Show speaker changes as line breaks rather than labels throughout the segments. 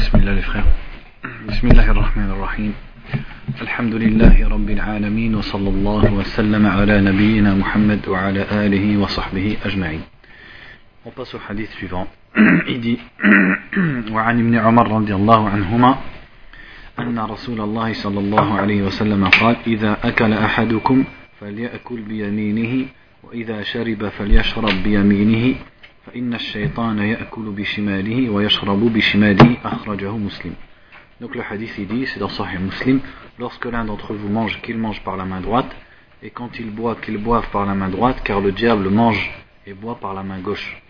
Bismillah les frères. Bismillahirrahmanirrahim. Alhamdulillahi Rabbil Alamin wa sallallahu wa sallam ala nabiyyina Muhammad wa ala alihi wa sahbihi ajma'in. On passe au hadith suivant. Il dit وعن ابن عمر رضي الله عنهما أن رسول الله صلى الله عليه وسلم قال إذا أكل أحدكم فليأكل بيمينه وإذا شرب فليشرب بيمينه فإن الشيطان يأكل بشماله ويشرب بشماله أخرجه مسلم. Donc le hadith il dit, c'est dans Sahih Muslim, lorsque l'un d'entre vous mange, qu'il mange par la main droite, et quand il boit, qu'il boive par la main droite, car le diable mange et boit par la main gauche.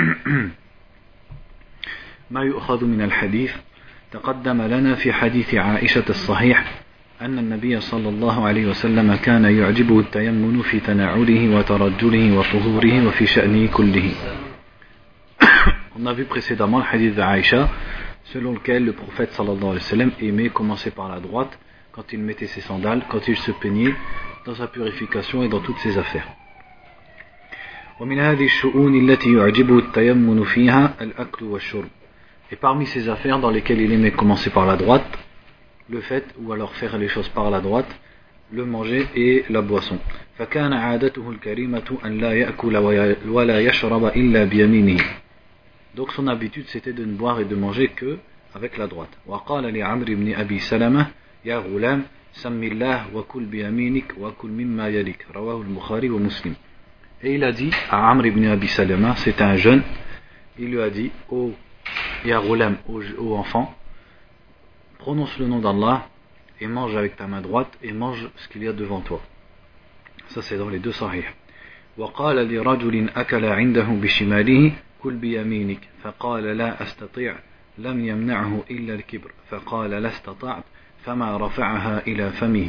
ما يؤخذ من الحديث تقدم لنا في حديث عائشة الصحيح أن النبي صلى الله عليه وسلم كان يعجبه التيمن في تناوله وترجله وطهوره وفي شأنه كله. On a vu précédemment le hadith d'Aïcha selon lequel le prophète sallallahu alayhi wa sallam aimait commencer par la droite quand il mettait ses sandales, quand il se peignait dans sa purification et dans toutes ses affaires. ومن هذه الشؤون التي يعجبه التيمن فيها الأكل والشرب. Et parmi ces affaires dans lesquelles il aimait commencer par la droite, le fait, ou alors faire les choses par la droite, le manger et la boisson. فكان عادته الكريمة أن لا يأكل ولا يشرب إلا بيمينه. Donc son habitude c'était de ne boire et de manger que avec la droite. وقال لعمرو بن أبي سلمة يا غلام سم الله وكل بيمينك وكل مما يليك رواه البخاري ومسلم. Et il a dit à Amr ibn Abi Salama, c'est un jeune, il lui a dit, ô Ya Ghulam, ô enfant, prononce le nom d'Allah et mange avec ta main droite et mange ce qu'il y a devant toi. Ça c'est dans les deux sahih. وقال لرجل أكل عنده بشماله كل بيمينك فقال لا أستطيع لم يمنعه إلا الكبر فقال لا استطعت فما رفعها إلى فمه.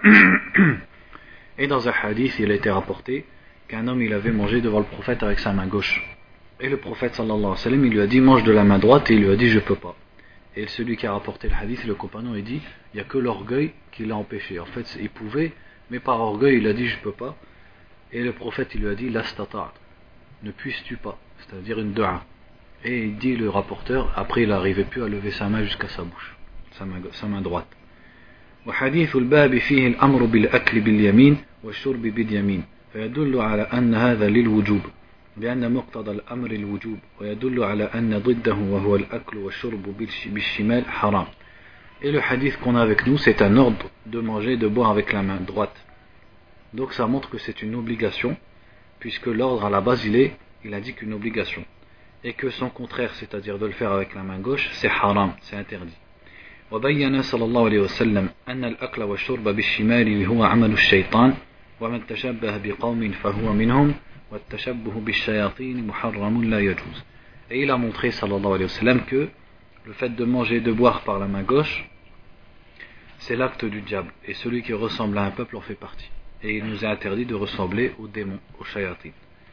Et dans un hadith il a été rapporté qu'un homme il avait mangé devant le prophète avec sa main gauche. Et le prophète sallallahu alayhi wa sallam il lui a dit mange de la main droite et il lui a dit je peux pas. Et celui qui a rapporté le hadith, le compagnon, il dit il n'y a que l'orgueil qui l'a empêché. En fait il pouvait, mais par orgueil il a dit je peux pas. Et le prophète il lui a dit la stata't, ne puisses-tu pas, c'est-à-dire une dua. Et il dit le rapporteur, après il n'arrivait plus à lever sa main jusqu'à sa bouche, sa main droite. وحديث الباب فيه الأمر بالأكل باليمين والشرب باليمين فيدل على أن هذا للوجوب لأن مقتضى الأمر الوجوب ويدل على أن ضده وهو الأكل والشرب بالشمال حرام. Et le hadith qu'on a avec nous c'est un ordre de manger et de boire avec la main droite. Donc ça montre que c'est une obligation puisque l'ordre à la base il indique une obligation et que son contraire c'est-à-dire de le faire avec la main gauche c'est haram, c'est interdit. وبين صلى الله عليه وسلم أن الأكل والشرب بالشمال هو عمل الشيطان ومن تشبه بقوم فهو منهم والتشبه بالشياطين محرم لا يجوز. Et il a montré sallallahu alayhi wa sallam que le fait de manger et de boire par la main gauche c'est l'acte du diable et celui qui ressemble à un peuple en fait partie. Et il nous est interdit de ressembler aux démons, aux shayatin.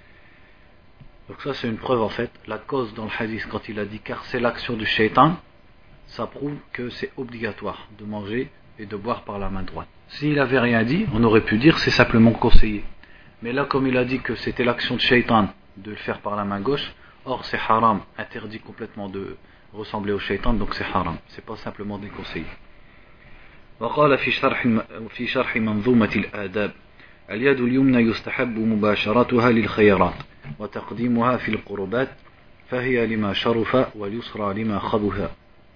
Donc ça c'est une preuve en fait, la cause dans le hadith quand il a dit car c'est l'action du shaitan, ça prouve que c'est obligatoire de manger et de boire par la main droite. S'il avait rien dit, on aurait pu dire c'est simplement conseillé. Mais là comme il a dit que c'était l'action de shaitan de le faire par la main gauche, or c'est haram, interdit complètement de ressembler au shaitan, donc c'est haram, c'est pas simplement déconseillé. وقال في شرح منظومة الآداب اليد اليمنى يستحب مباشرتها للخيرات وتقديمها في القربات فهي لما شرف واليسرى لما خبث.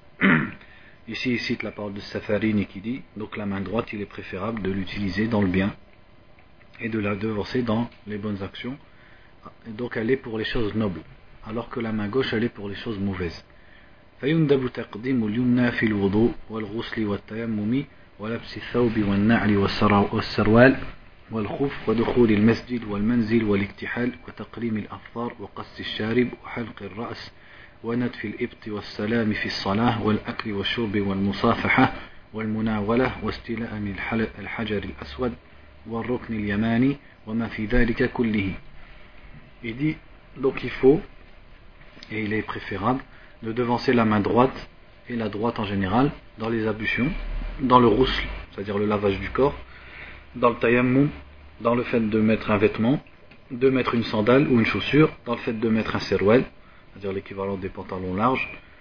Ici il cite la parole de Safarini qui dit donc la main droite il est préférable de l'utiliser dans le bien et de la devancer dans les bonnes actions, donc elle est pour les choses nobles alors que la main gauche elle est pour les choses mauvaises. فيندب تقديم اليمنى في الوضوء والغسل والتيمم ولبس الثوب والنعل والسروال والخف ودخول المسجد والمنزل والاكتحال وتقليم الأظفار وقص الشارب وحلق الرأس ونتف الإبط والسلام في الصلاة والأكل والشرب والمصافحة والمناولة واستلام الحجر الأسود والركن اليماني وما في ذلك كله. Il dit donc il faut et il est préférable de devancer la main droite et la droite en général dans les ablutions, dans le rousl, c'est-à-dire le lavage du corps, dans le tayammum, dans le fait de mettre un vêtement, de mettre une sandale ou une chaussure, dans le fait de mettre un serwal, c'est-à-dire l'équivalent des pantalons larges,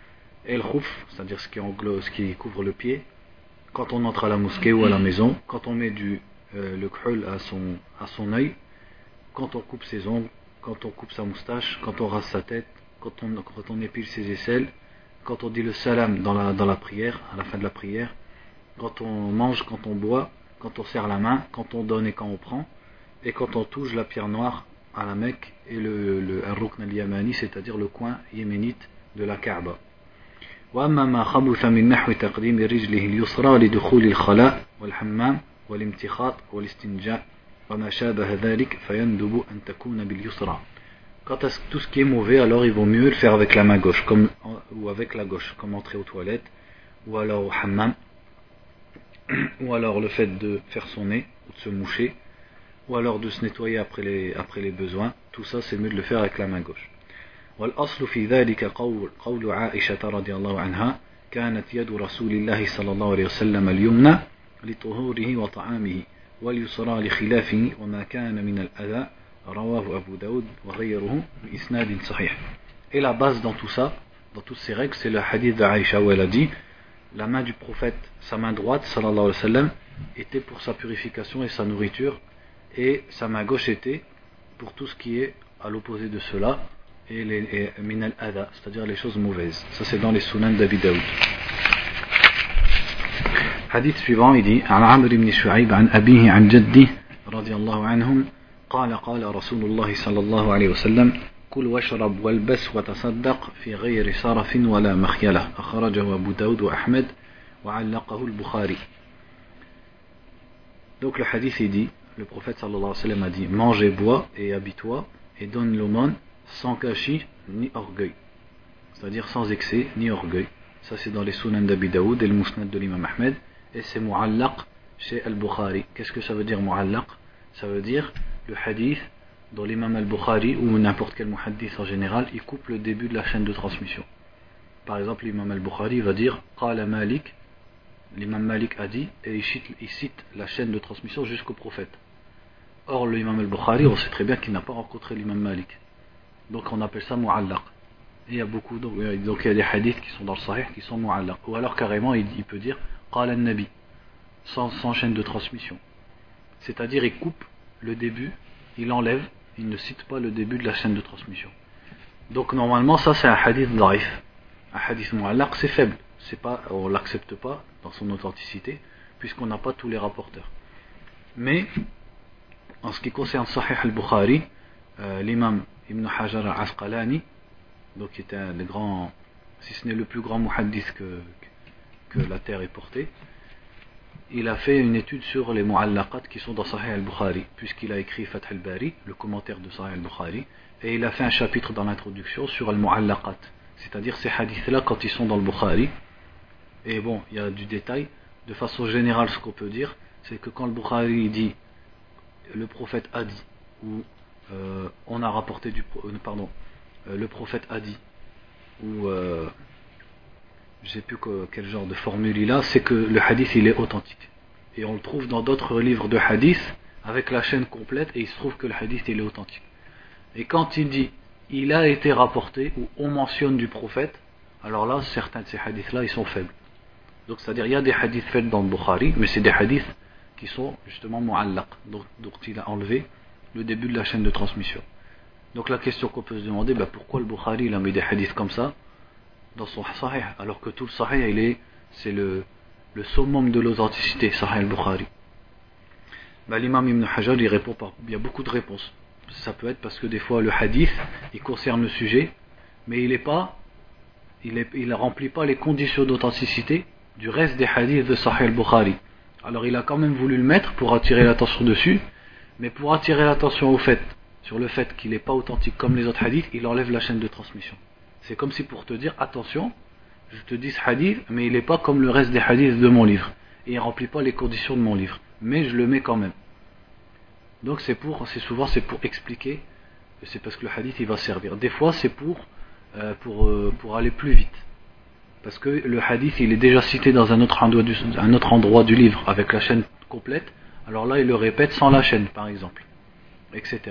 et le khouf, c'est-à-dire ce qui couvre le pied, quand on entre à la mosquée ou à la maison, quand on met le khul à son œil, quand on coupe ses ongles, quand on coupe sa moustache, quand on rase sa tête, quand on épile ses aisselles, quand on dit le salam dans la prière, à la fin de la prière, quand on mange, quand on boit, quand on serre la main, quand on donne et quand on prend, et quand on touche la pierre noire à la Mecque et le Rukn al-Yamani, c'est-à-dire le coin yéménite de la Kaaba. وأما ما خبث من نحو تقديم رجله اليسرى لدخول الخلاء والحمام والامتخاط والاستنجاء وما شابه ذلك فيندب أن تكون باليسرى. Quant à tout ce qui est mauvais, alors il vaut mieux le faire avec la main gauche, ou avec la gauche, comme entrer aux toilettes, ou alors au hammam, ou alors le fait de faire son nez, ou de se moucher, ou alors de se nettoyer après les besoins. Tout ça, c'est mieux de le faire avec la main gauche. والأصل في ذلك قول عائشة رضي الله عنها كانت يد رسول الله صلى الله عليه وسلم اليمنى لطهوره وطعامه واليسرى لخلافه وما كان من الأذى رواه أبو داود وغيره بإسناد صحيح. Et la base dans tout ça, dans toutes ces règles, c'est le hadith d'Aïcha où elle a dit la main du prophète, sa main droite, sallallahu alayhi wa sallam, était pour sa purification et sa nourriture, et sa main gauche était pour tout ce qui est à l'opposé de cela, et min al-adha, c'est-à-dire les choses mauvaises. Ça c'est dans les sunan d'Abi Daoud. Hadith suivant, il dit عن عمرو بن شعيب عن أبيه عن جده رضي الله عنهم قال قال رسول الله صلى الله عليه وسلم كل واشرب والبس وتصدق في غير سرف ولا مخيلة أخرجه أبو داود وأحمد وعلقه البخاري. Donc le hadith il dit, le prophète sallallahu alayhi wa sallam a dit mange et bois et habille-toi et donne l'aumône sans gâchis ni orgueil, c'est-à-dire sans excès ni orgueil. Ça c'est dans les sunan d'Abi Daoud et le musnad de l'imam Ahmed, et c'est mu'allaq chez al-Bukhari. Qu'est-ce que ça veut dire mu'allaq? Ça veut dire le hadith dont l'imam al-Bukhari ou n'importe quel muhaddith en général il coupe le début de la chaîne de transmission. Par exemple l'imam al-Bukhari va dire qala Malik, l'imam Malik a dit, et il cite la chaîne de transmission jusqu'au prophète. Or l'imam al-Bukhari, on sait très bien qu'il n'a pas rencontré l'imam Malik, donc on appelle ça mu'allaq. Et il y a beaucoup donc il y a des hadiths qui sont dans le sahih qui sont mu'allaq, ou alors carrément il peut dire qala an-nabi sans chaîne de transmission, c'est-à-dire il coupe le début, il enlève, il ne cite pas le début de la chaîne de transmission. Donc normalement ça c'est un hadith dhaif, un hadith mu'allaq, c'est faible, c'est pas, on l'accepte pas dans son authenticité puisqu'on n'a pas tous les rapporteurs. Mais en ce qui concerne Sahih al-Bukhari, l'imam Ibn Hajar al-Asqalani, donc qui était un des grands, si ce n'est le plus grand muhaddith que la terre ait porté, il a fait une étude sur les mu'allaqat qui sont dans Sahih al-Bukhari, puisqu'il a écrit Fath al-Bari, le commentaire de Sahih al-Bukhari, et il a fait un chapitre dans l'introduction sur al-mu'allaqat, c'est-à-dire ces hadiths-là quand ils sont dans le Bukhari. Et bon, il y a du détail. De façon générale, ce qu'on peut dire, c'est que quand le Bukhari dit le prophète a dit, ou on a rapporté le prophète a dit, ou je ne sais plus quel genre de formule il a, c'est que le hadith il est authentique. Et on le trouve dans d'autres livres de hadith avec la chaîne complète, et il se trouve que le hadith il est authentique. Et quand il dit il a été rapporté, ou on mentionne du prophète, alors là certains de ces hadiths là ils sont faibles. Donc c'est-à-dire il y a des hadiths faits dans le Bukhari, mais c'est des hadiths qui sont justement mu'allaq, donc il a enlevé le début de la chaîne de transmission. Donc la question qu'on peut se demander, pourquoi le Bukhari il a mis des hadiths comme ça dans son Sahih, alors que tout le Sahih c'est le summum de l'authenticité, Sahih al-Bukhari. L'imam Ibn Hajar il répond il y a beaucoup de réponses. Ça peut être parce que des fois le hadith il concerne le sujet, mais il remplit pas les conditions d'authenticité du reste des hadiths de Sahih al-Bukhari. Alors il a quand même voulu le mettre pour attirer l'attention dessus, mais pour attirer l'attention sur le fait qu'il n'est pas authentique comme les autres hadiths, il enlève la chaîne de transmission. C'est comme si pour te dire attention, je te dis ce hadith, mais il n'est pas comme le reste des hadiths de mon livre, et il ne remplit pas les conditions de mon livre, mais je le mets quand même. Donc souvent c'est pour expliquer, c'est parce que le hadith il va servir. Des fois c'est pour aller plus vite, parce que le hadith il est déjà cité dans un autre endroit du livre avec la chaîne complète, alors là il le répète sans la chaîne par exemple, etc.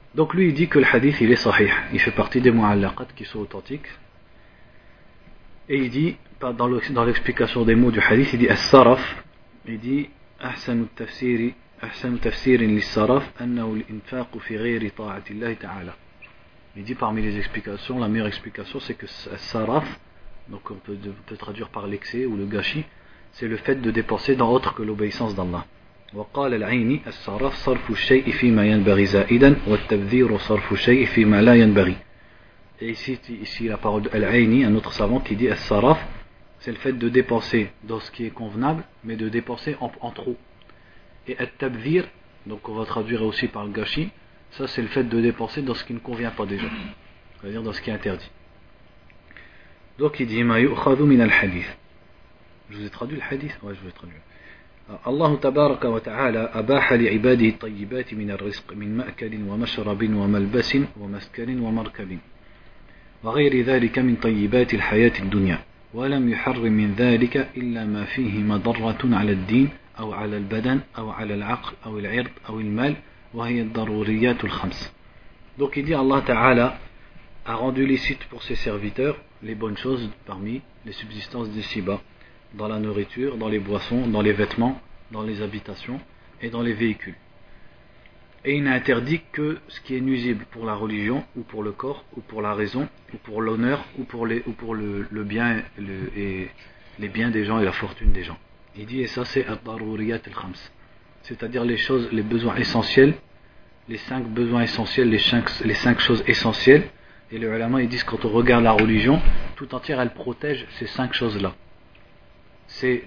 Donc lui il dit que le hadith il est sahih, il fait partie des mu'allaqat qui sont authentiques. Et il dit, dans l'explication des mots du hadith, il dit as-saraf, il dit ahsanu tafsir lis-saraf annahu al-infaq fi ghayri ta'ati Allah ta'ala. Il dit parmi les explications, la meilleure explication c'est que as-saraf, donc on peut traduire par l'excès ou le gâchis, c'est le fait de dépenser dans autre que l'obéissance d'Allah. وقال العيني الصرف صرف الشيء فيما ينبغي زائدا والتبذير صرف الشيء فيما لا ينبغي. Et ici la parole de Al-Aini, un autre savant qui dit as-saraf, c'est le fait de dépenser dans ce qui est convenable, mais de dépenser en trop. Et at-tabdhir, donc on va traduire aussi par le gâchis, ça c'est le fait de dépenser dans ce qui ne convient pas déjà, c'est-à-dire dans ce qui est interdit. Donc il dit ma yu'khadhu min al-hadith. Je vous ai traduit le hadith? Ouais, je vous ai traduit. الله تبارك وتعالى أباح لعباده الطيبات من الرزق من مأكل ومشرب وملبس ومسكن ومركب وغير ذلك من طيبات الحياة الدنيا ولم يحرم من ذلك إلا ما فيه مضرة على الدين أو على البدن أو على العقل أو العرض أو المال وهي الضروريات الخمس. Donc il dit Allah Ta'ala a rendu licite pour ses serviteurs les bonnes choses parmi les subsistances d'ici-bas, dans la nourriture, dans les boissons, dans les vêtements, dans les habitations et dans les véhicules. Et il n'a interdit que ce qui est nuisible pour la religion, ou pour le corps, ou pour la raison, ou pour l'honneur, ou pour le bien et les biens des gens et la fortune des gens. Il dit, et ça c'est ad-daruriyat al-khams, c'est-à-dire les choses, les besoins essentiels, les 5 besoins essentiels, les 5 choses essentielles. Et les ulama ils disent quand on regarde la religion, tout entière elle protège ces 5 choses-là. C'est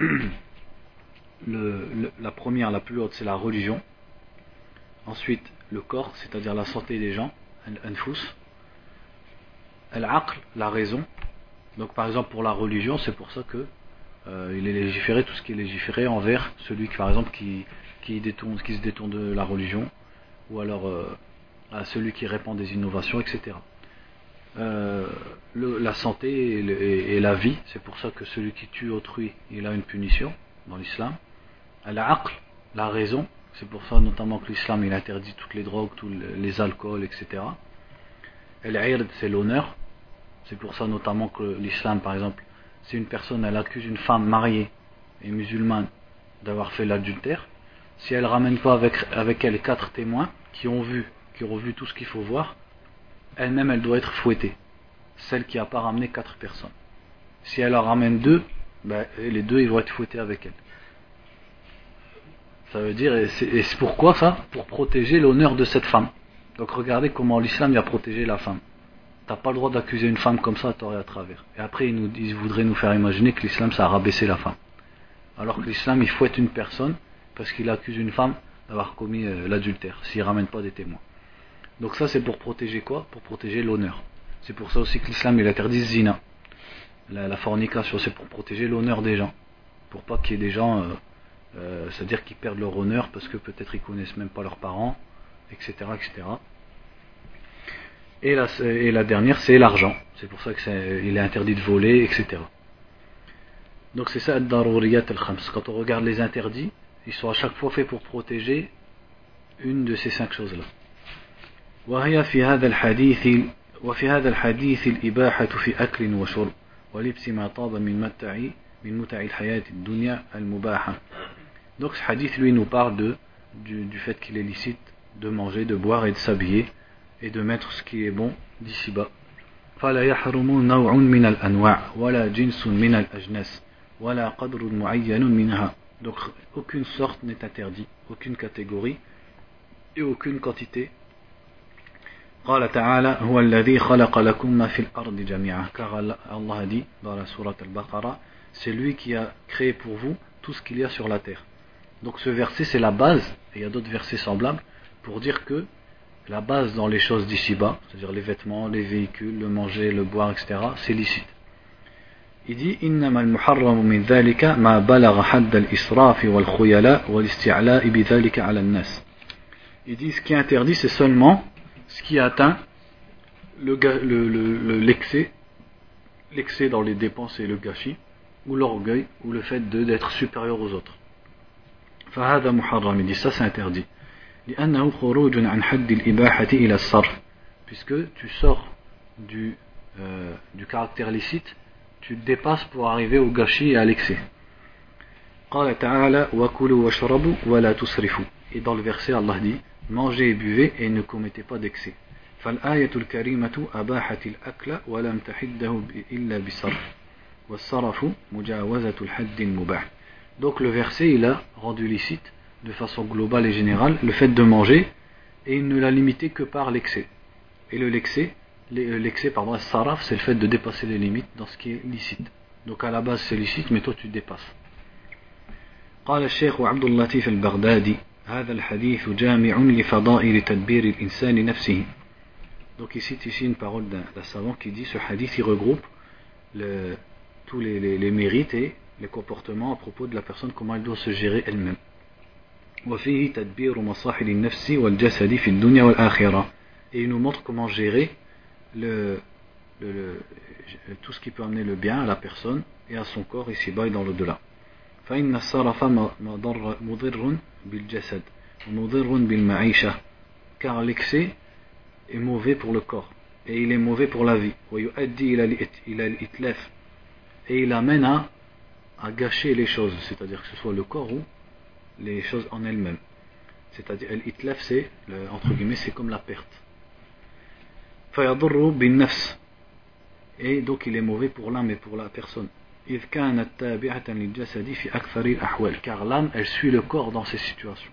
la première, la plus haute, c'est la religion. Ensuite, le corps, c'est-à-dire la santé des gens, al-anfus. Al-aql, la raison. Donc par exemple pour la religion, c'est pour ça que il est légiféré, tout ce qui est légiféré envers celui qui, par exemple, qui se détourne de la religion, ou alors à celui qui répand des innovations, etc. La santé et la vie, c'est pour ça que celui qui tue autrui, il a une punition dans l'islam. Al-aql, la raison, c'est pour ça notamment que l'islam il interdit toutes les drogues, tous les alcools, etc. Al-ird, c'est l'honneur, c'est pour ça notamment que l'islam, par exemple, si une personne elle accuse une femme mariée et musulmane d'avoir fait l'adultère, si elle ramène pas avec elle 4 témoins qui ont vu tout ce qu'il faut voir, elle-même elle doit être fouettée, celle qui n'a pas ramené 4 personnes. Si elle en ramène 2, les 2 ils vont être fouettés avec elle. Ça veut dire, et c'est pourquoi ça? Pour protéger l'honneur de cette femme. Donc regardez comment l'islam a protégé la femme. T'as pas le droit d'accuser une femme comme ça à tort et à travers. Et après ils voudraient nous faire imaginer que l'islam ça a rabaissé la femme. Alors que l'islam il fouette une personne parce qu'il accuse une femme d'avoir commis l'adultère, s'il ramène pas des témoins. Donc ça c'est pour protéger quoi? Pour protéger l'honneur. C'est pour ça aussi que l'islam il interdit zina. La fornication, c'est pour protéger l'honneur des gens. Pour pas qu'il y ait des gens, c'est-à-dire qu'ils perdent leur honneur parce que peut-être ils connaissent même pas leurs parents, etc. etc. Et la dernière c'est l'argent. C'est pour ça qu'il est interdit de voler, etc. Donc c'est ça ad-daruriyat al-khams. Quand on regarde les interdits, ils sont à chaque fois faits pour protéger une de ces 5 choses-là. وهي في هذا الحديث الإباحة في أكل وشرب ولبس ما طاب من متع الحياة الدنيا المباحة. Donc ce hadith lui nous parle du fait qu'il est licite de manger, de boire et de s'habiller et de mettre ce qui est bon d'ici-bas. فلا يحرم نوع من الأنواع ولا جنس من الأجناس ولا قدر معين منها. Donc aucune sorte n'est interdite, aucune catégorie et aucune quantité. قال تعالى هو الذي خلق لكم ما في الأرض جميعا. Car Allah dit dans la sourate Al-Baqarah, c'est lui qui a créé pour vous tout ce qu'il y a sur la terre. Donc ce verset c'est la base, et il y a d'autres versets semblables pour dire que la base dans les choses d'ici-bas, c'est-à-dire les vêtements, les véhicules, le manger, le boire, etc., c'est licite. Il dit إنما المحرم من ذلك ما بلغ حد الإسراف والخيلاء والاستعلاء بذلك على الناس. Il dit ce qui est interdit c'est seulement ce qui atteint l'excès dans les dépenses et le gâchis, ou l'orgueil, ou le fait d'être supérieur aux autres. فهذا محرم, il dit ça c'est interdit. لأنه خروج عن حد الإباحة إلى الصرف, puisque tu sors du caractère licite, tu dépasses pour arriver au gâchis et à l'excès. قال تعالى وكلوا واشربوا ولا تسرفوا. Et dans le verset Allah dit mangez et buvez et ne commettez pas d'excès. فالآية الكريمة أباحت الأكل ولم تحده إلا بالصرف والصرف مجاوزة الحد المباح. Donc le verset il a rendu licite de façon globale et générale le fait de manger et il ne l'a limité que par l'excès. Et l'excès, saraf, c'est le fait de dépasser les limites dans ce qui est licite. Donc à la base c'est licite mais toi tu dépasses. قال الشيخ عبد اللطيف البغدادي هذا الحديث جامع لفضائل تدبير الإنسان نفسه. Donc il cite ici une parole d'un savant qui dit ce hadith il regroupe tous les mérites et les comportements à propos de la personne, comment elle doit se gérer elle-même. وفيه تدبير مصالح النفس والجسد في الدنيا والآخرة. Et il nous montre comment gérer tout ce qui peut amener le bien à la personne et à son corps ici-bas et dans l'au-delà. فإن الصرف مضر بالجسد ومضر بالمعيشة. Car l'excès est mauvais pour le corps et il est mauvais pour la vie. ويؤدي إلى الإتلاف. Et il amène à gâcher les choses, c'est-à-dire que ce soit le corps ou les choses en elles-mêmes. C'est-à-dire l'itlaf c'est entre guillemets c'est comme la perte. فيضر بالنفس. Et donc il est mauvais pour l'âme et pour la personne. إذ كانت تابعة للجسد في أكثر الأحوال. Car l'âme elle suit le corps dans ces situations.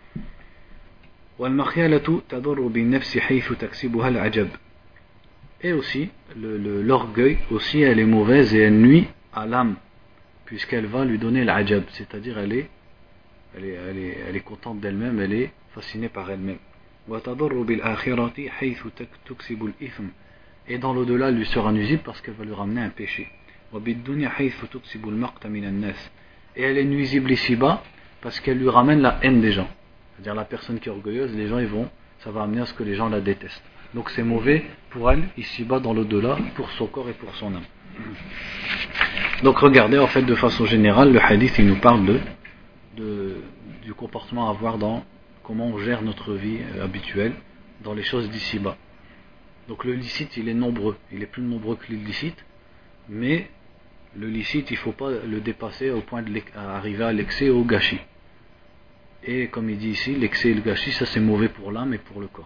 والمخيلة تضر بالنفس حيث تكسبها العجب. Et aussi l'orgueil aussi elle est mauvaise et elle nuit à l'âme puisqu'elle va lui donner l'ajab, c'est-à-dire elle est contente d'elle-même, elle est fascinée par elle-même. وتضر بالآخرة حيث تكسب الإثم. Et dans l'au-delà elle lui sera nuisible parce qu'elle va lui ramener un péché. وبالدنيا حيث تكسب المقت من الناس. Et elle est nuisible ici-bas parce qu'elle lui ramène la haine des gens. C'est-à-dire la personne qui est orgueilleuse, les gens ça va amener à ce que les gens la détestent. Donc c'est mauvais pour elle ici-bas dans l'au-delà, pour son corps et pour son âme. Donc regardez en fait de façon générale, le hadith il nous parle du comportement à avoir dans comment on gère notre vie habituelle dans les choses d'ici-bas. Donc le licite il est nombreux, il est plus nombreux que l'illicite, mais le licite il ne faut pas le dépasser au point d'arriver à l'excès et au gâchis. Et comme il dit ici, l'excès et le gâchis ça c'est mauvais pour l'âme et pour le corps.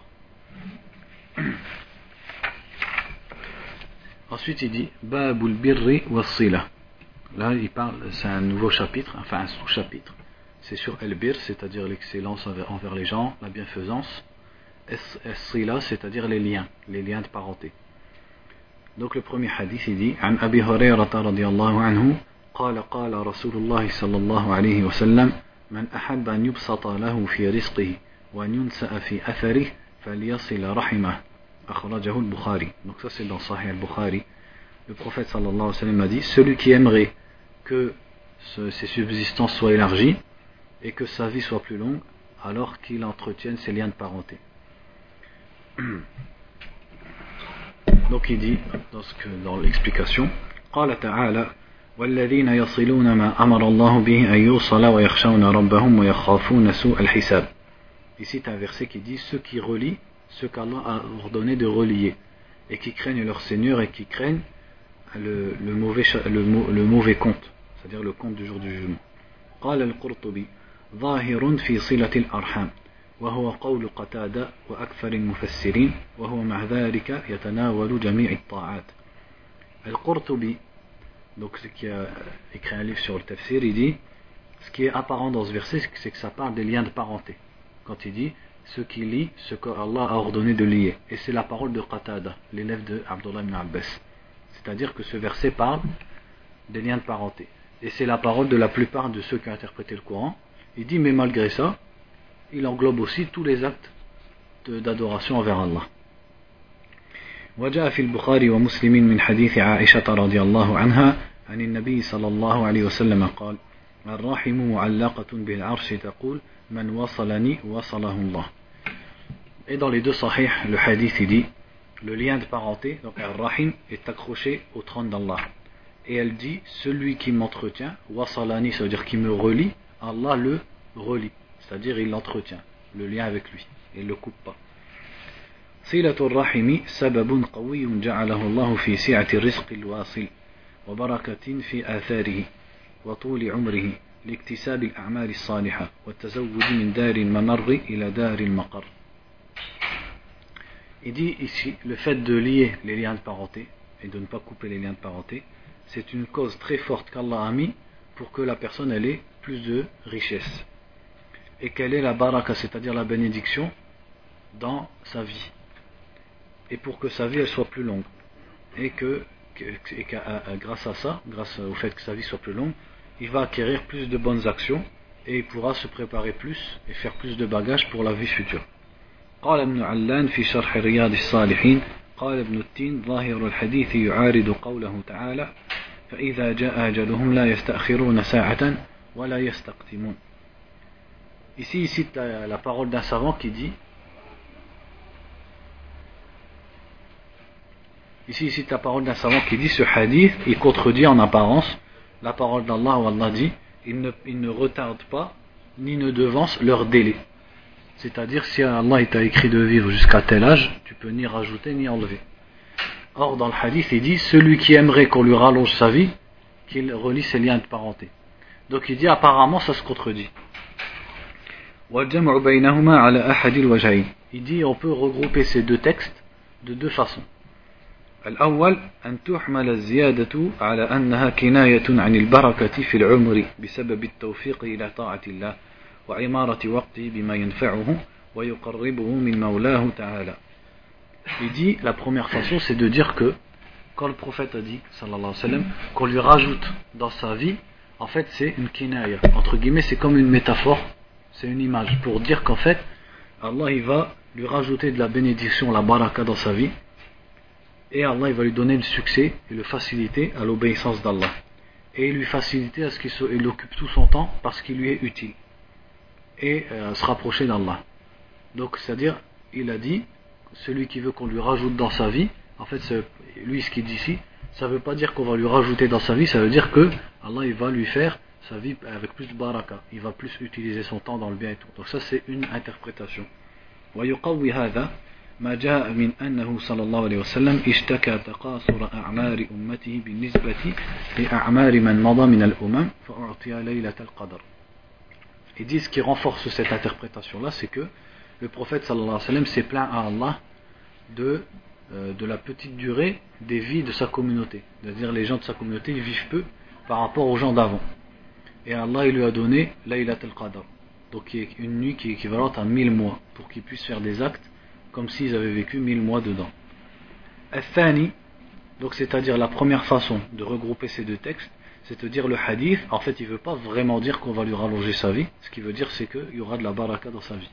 Ensuite il dit Babul birri was-sila. Là il parle, c'est un nouveau chapitre, enfin un sous-chapitre. C'est sur el-bir, c'est-à-dire l'excellence envers les gens, la bienfaisance. Es-sila, c'est-à-dire les liens de parenté. Donc le premier hadith il dit An Abi Hurayrata radiyallahu anhu قال قال رسول الله صلى الله عليه وسلم من أحب أن يبسط له في رزقه وأن ينسأ في أثره فليصل رحمه أخرجه البخاري. Donc ça c'est dans Sahih al-Bukhari. Le prophète sallallahu alayhi wa sallam a dit celui qui aimerait que ses subsistances soient élargies et que sa vie soit plus longue, alors qu'il entretienne ses liens de parenté. Donc il dit dans l'explication قال تعالى والذين يصلون ما أمر الله به أن يوصل ويخشون ربهم ويخافون سوء الحساب. Ici c'est un verset qui dit ceux qui relient ce qu'Allah a ordonné de relier et qui craignent leur Seigneur et qui craignent le mauvais compte, c'est-à-dire le compte du jour du jugement. قال القرطبي ظاهر في صلة الأرحام وهو قول قتادة وأكثر المفسرين وهو مع ذلك يتناول جميع الطاعات. القرطبي, donc ce qui a écrit un livre sur le tafsir, il dit ce qui est apparent dans ce verset c'est que ça parle des liens de parenté. Quand il dit ceux qui lient ce qu'Allah a ordonné de lier, et c'est la parole de Qatada, l'élève de Abdullah ibn Abbas. C'est-à-dire que ce verset parle des liens de parenté. Et c'est la parole de la plupart de ceux qui ont interprété le Coran. Il dit mais malgré ça, il englobe aussi tous les actes d'adoration envers Allah. وجاء في البخاري ومسلم من حديث عائشة رضي الله عنها عن النبي صلى الله عليه وسلم قال الرحم معلقة بالعرش تقول من وصلني وصله الله. Et dans les deux sahih, le hadith il dit le lien de parenté, donc Ar-Rahim, est accroché au trône d'Allah. Et elle dit celui qui m'entretient, wasalani, ça veut dire qui me relie, Allah le relie, c'est-à-dire il l'entretient. le lien avec lui, et il ne le coupe pas. صلة الرحم سبب قوي جعله الله في سعة الرزق الواصل وبركة في آثاره وطول عمره لاكتساب الأعمال الصالحة والتزود من دار الممر إلى دار المقر. Il dit ici, le fait de lier les liens de parenté et de ne pas couper les liens de parenté, c'est une cause très forte qu'Allah a mis pour que la personne elle ait plus de richesse. Et quelle est la baraka, c'est-à-dire la bénédiction dans sa vie. Et pour que sa vie elle soit plus longue. Et grâce à ça, grâce au fait que sa vie soit plus longue, il va acquérir plus de bonnes actions et il pourra se préparer plus et faire plus de bagages pour la vie future. قال ابن علان في شرح رياض الصالحين قال ابن التين ظاهر الحديث يعارض قوله تعالى فإذا جاء أجلهم لا يستأخرون ساعة ولا يستقدمون. Ici il cite la parole d'un savant qui dit ce hadith il contredit en apparence la parole d'Allah où Allah dit il ne retarde pas ni ne devance leur délai. C'est-à-dire, si Allah t'a écrit de vivre jusqu'à tel âge, tu peux ni rajouter ni enlever. Or, dans le hadith, il dit celui qui aimerait qu'on lui rallonge sa vie, qu'il relie ses liens de parenté. Donc, il dit apparemment, ça se contredit. Il dit on peut regrouper ces deux textes de deux façons. الأول أن تحمل الزيادة على أنها كناية عن البركة في العمر بسبب التوفيق إلى طاعة الله وعمارة وقته بما ينفعه ويقربه من مولاه تعالى. Il dit la première façon c'est de dire que quand le prophète a dit sallallahu alayhi wa sallam qu'on lui rajoute dans sa vie, en fait c'est une kinaya, entre guillemets c'est comme une métaphore, c'est une image pour dire qu'en fait Allah il va lui rajouter de la bénédiction, la baraka dans sa vie et Allah il va lui donner le succès et le faciliter à l'obéissance d'Allah et lui faciliter à ce qu'il occupe tout son temps parce qu'il lui est utile et se rapprocher d'Allah. Donc c'est-à-dire il a dit celui qui veut qu'on lui rajoute dans sa vie, en fait lui ce qu'il dit ici, ça veut pas dire qu'on va lui rajouter dans sa vie, ça veut dire que Allah il va lui faire sa vie avec plus de baraka, il va plus utiliser son temps dans le bien et tout. Donc ça c'est une interprétation. ويقوي هذا ما جاء من أنه صلى الله عليه وسلم اشتكى تقاصر أعمار أمته بالنسبة لأعمار من مضى من الأمم فأعطي ليلة القدر. Il dit ce qui renforce cette interprétation là, c'est que le prophète sallallahu alayhi wa sallam s'est plaint à Allah de la petite durée des vies de sa communauté. C'est-à-dire les gens de sa communauté ils vivent peu par rapport aux gens d'avant. Et Allah il lui a donné Laylat al-Qadr, donc qui est une nuit qui est équivalente à 1000 mois, pour qu'ils puissent faire des actes comme s'ils avaient vécu 1000 mois dedans. Al-Thani, donc c'est-à-dire la première façon de regrouper ces deux textes, c'est de dire le hadith, en fait il ne veut pas vraiment dire qu'on va lui rallonger sa vie, ce qui veut dire c'est qu'il y aura de la baraka dans sa vie.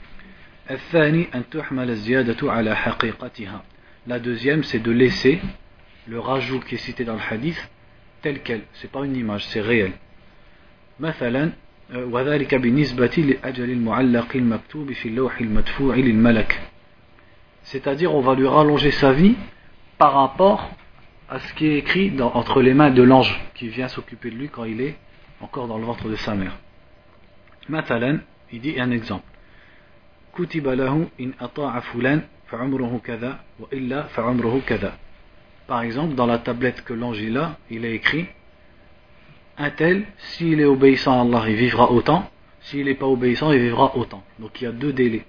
الثاني أن تحمل الزيادة على حقيقتها. La deuxième c'est de laisser le rajout qui est cité dans le hadith tel quel, c'est pas une image, c'est réel. مثلا وذلك بالنسبة لأجل المعلق المكتوب في اللوح المدفوع للملك. C'est-à-dire on va lui rallonger sa vie par rapport à ce qui est écrit entre les mains de l'ange qui vient s'occuper de lui quand il est encore dans le ventre de sa mère. مثلا, il dit un exemple. كتب له إن أطاع فلان فعمره كذا وإلا فعمره كذا. Par exemple, dans la tablette que l'ange il a écrit un tel, s'il est obéissant à Allah, il vivra autant, s'il n'est pas obéissant, il vivra autant. Donc il y a deux délais.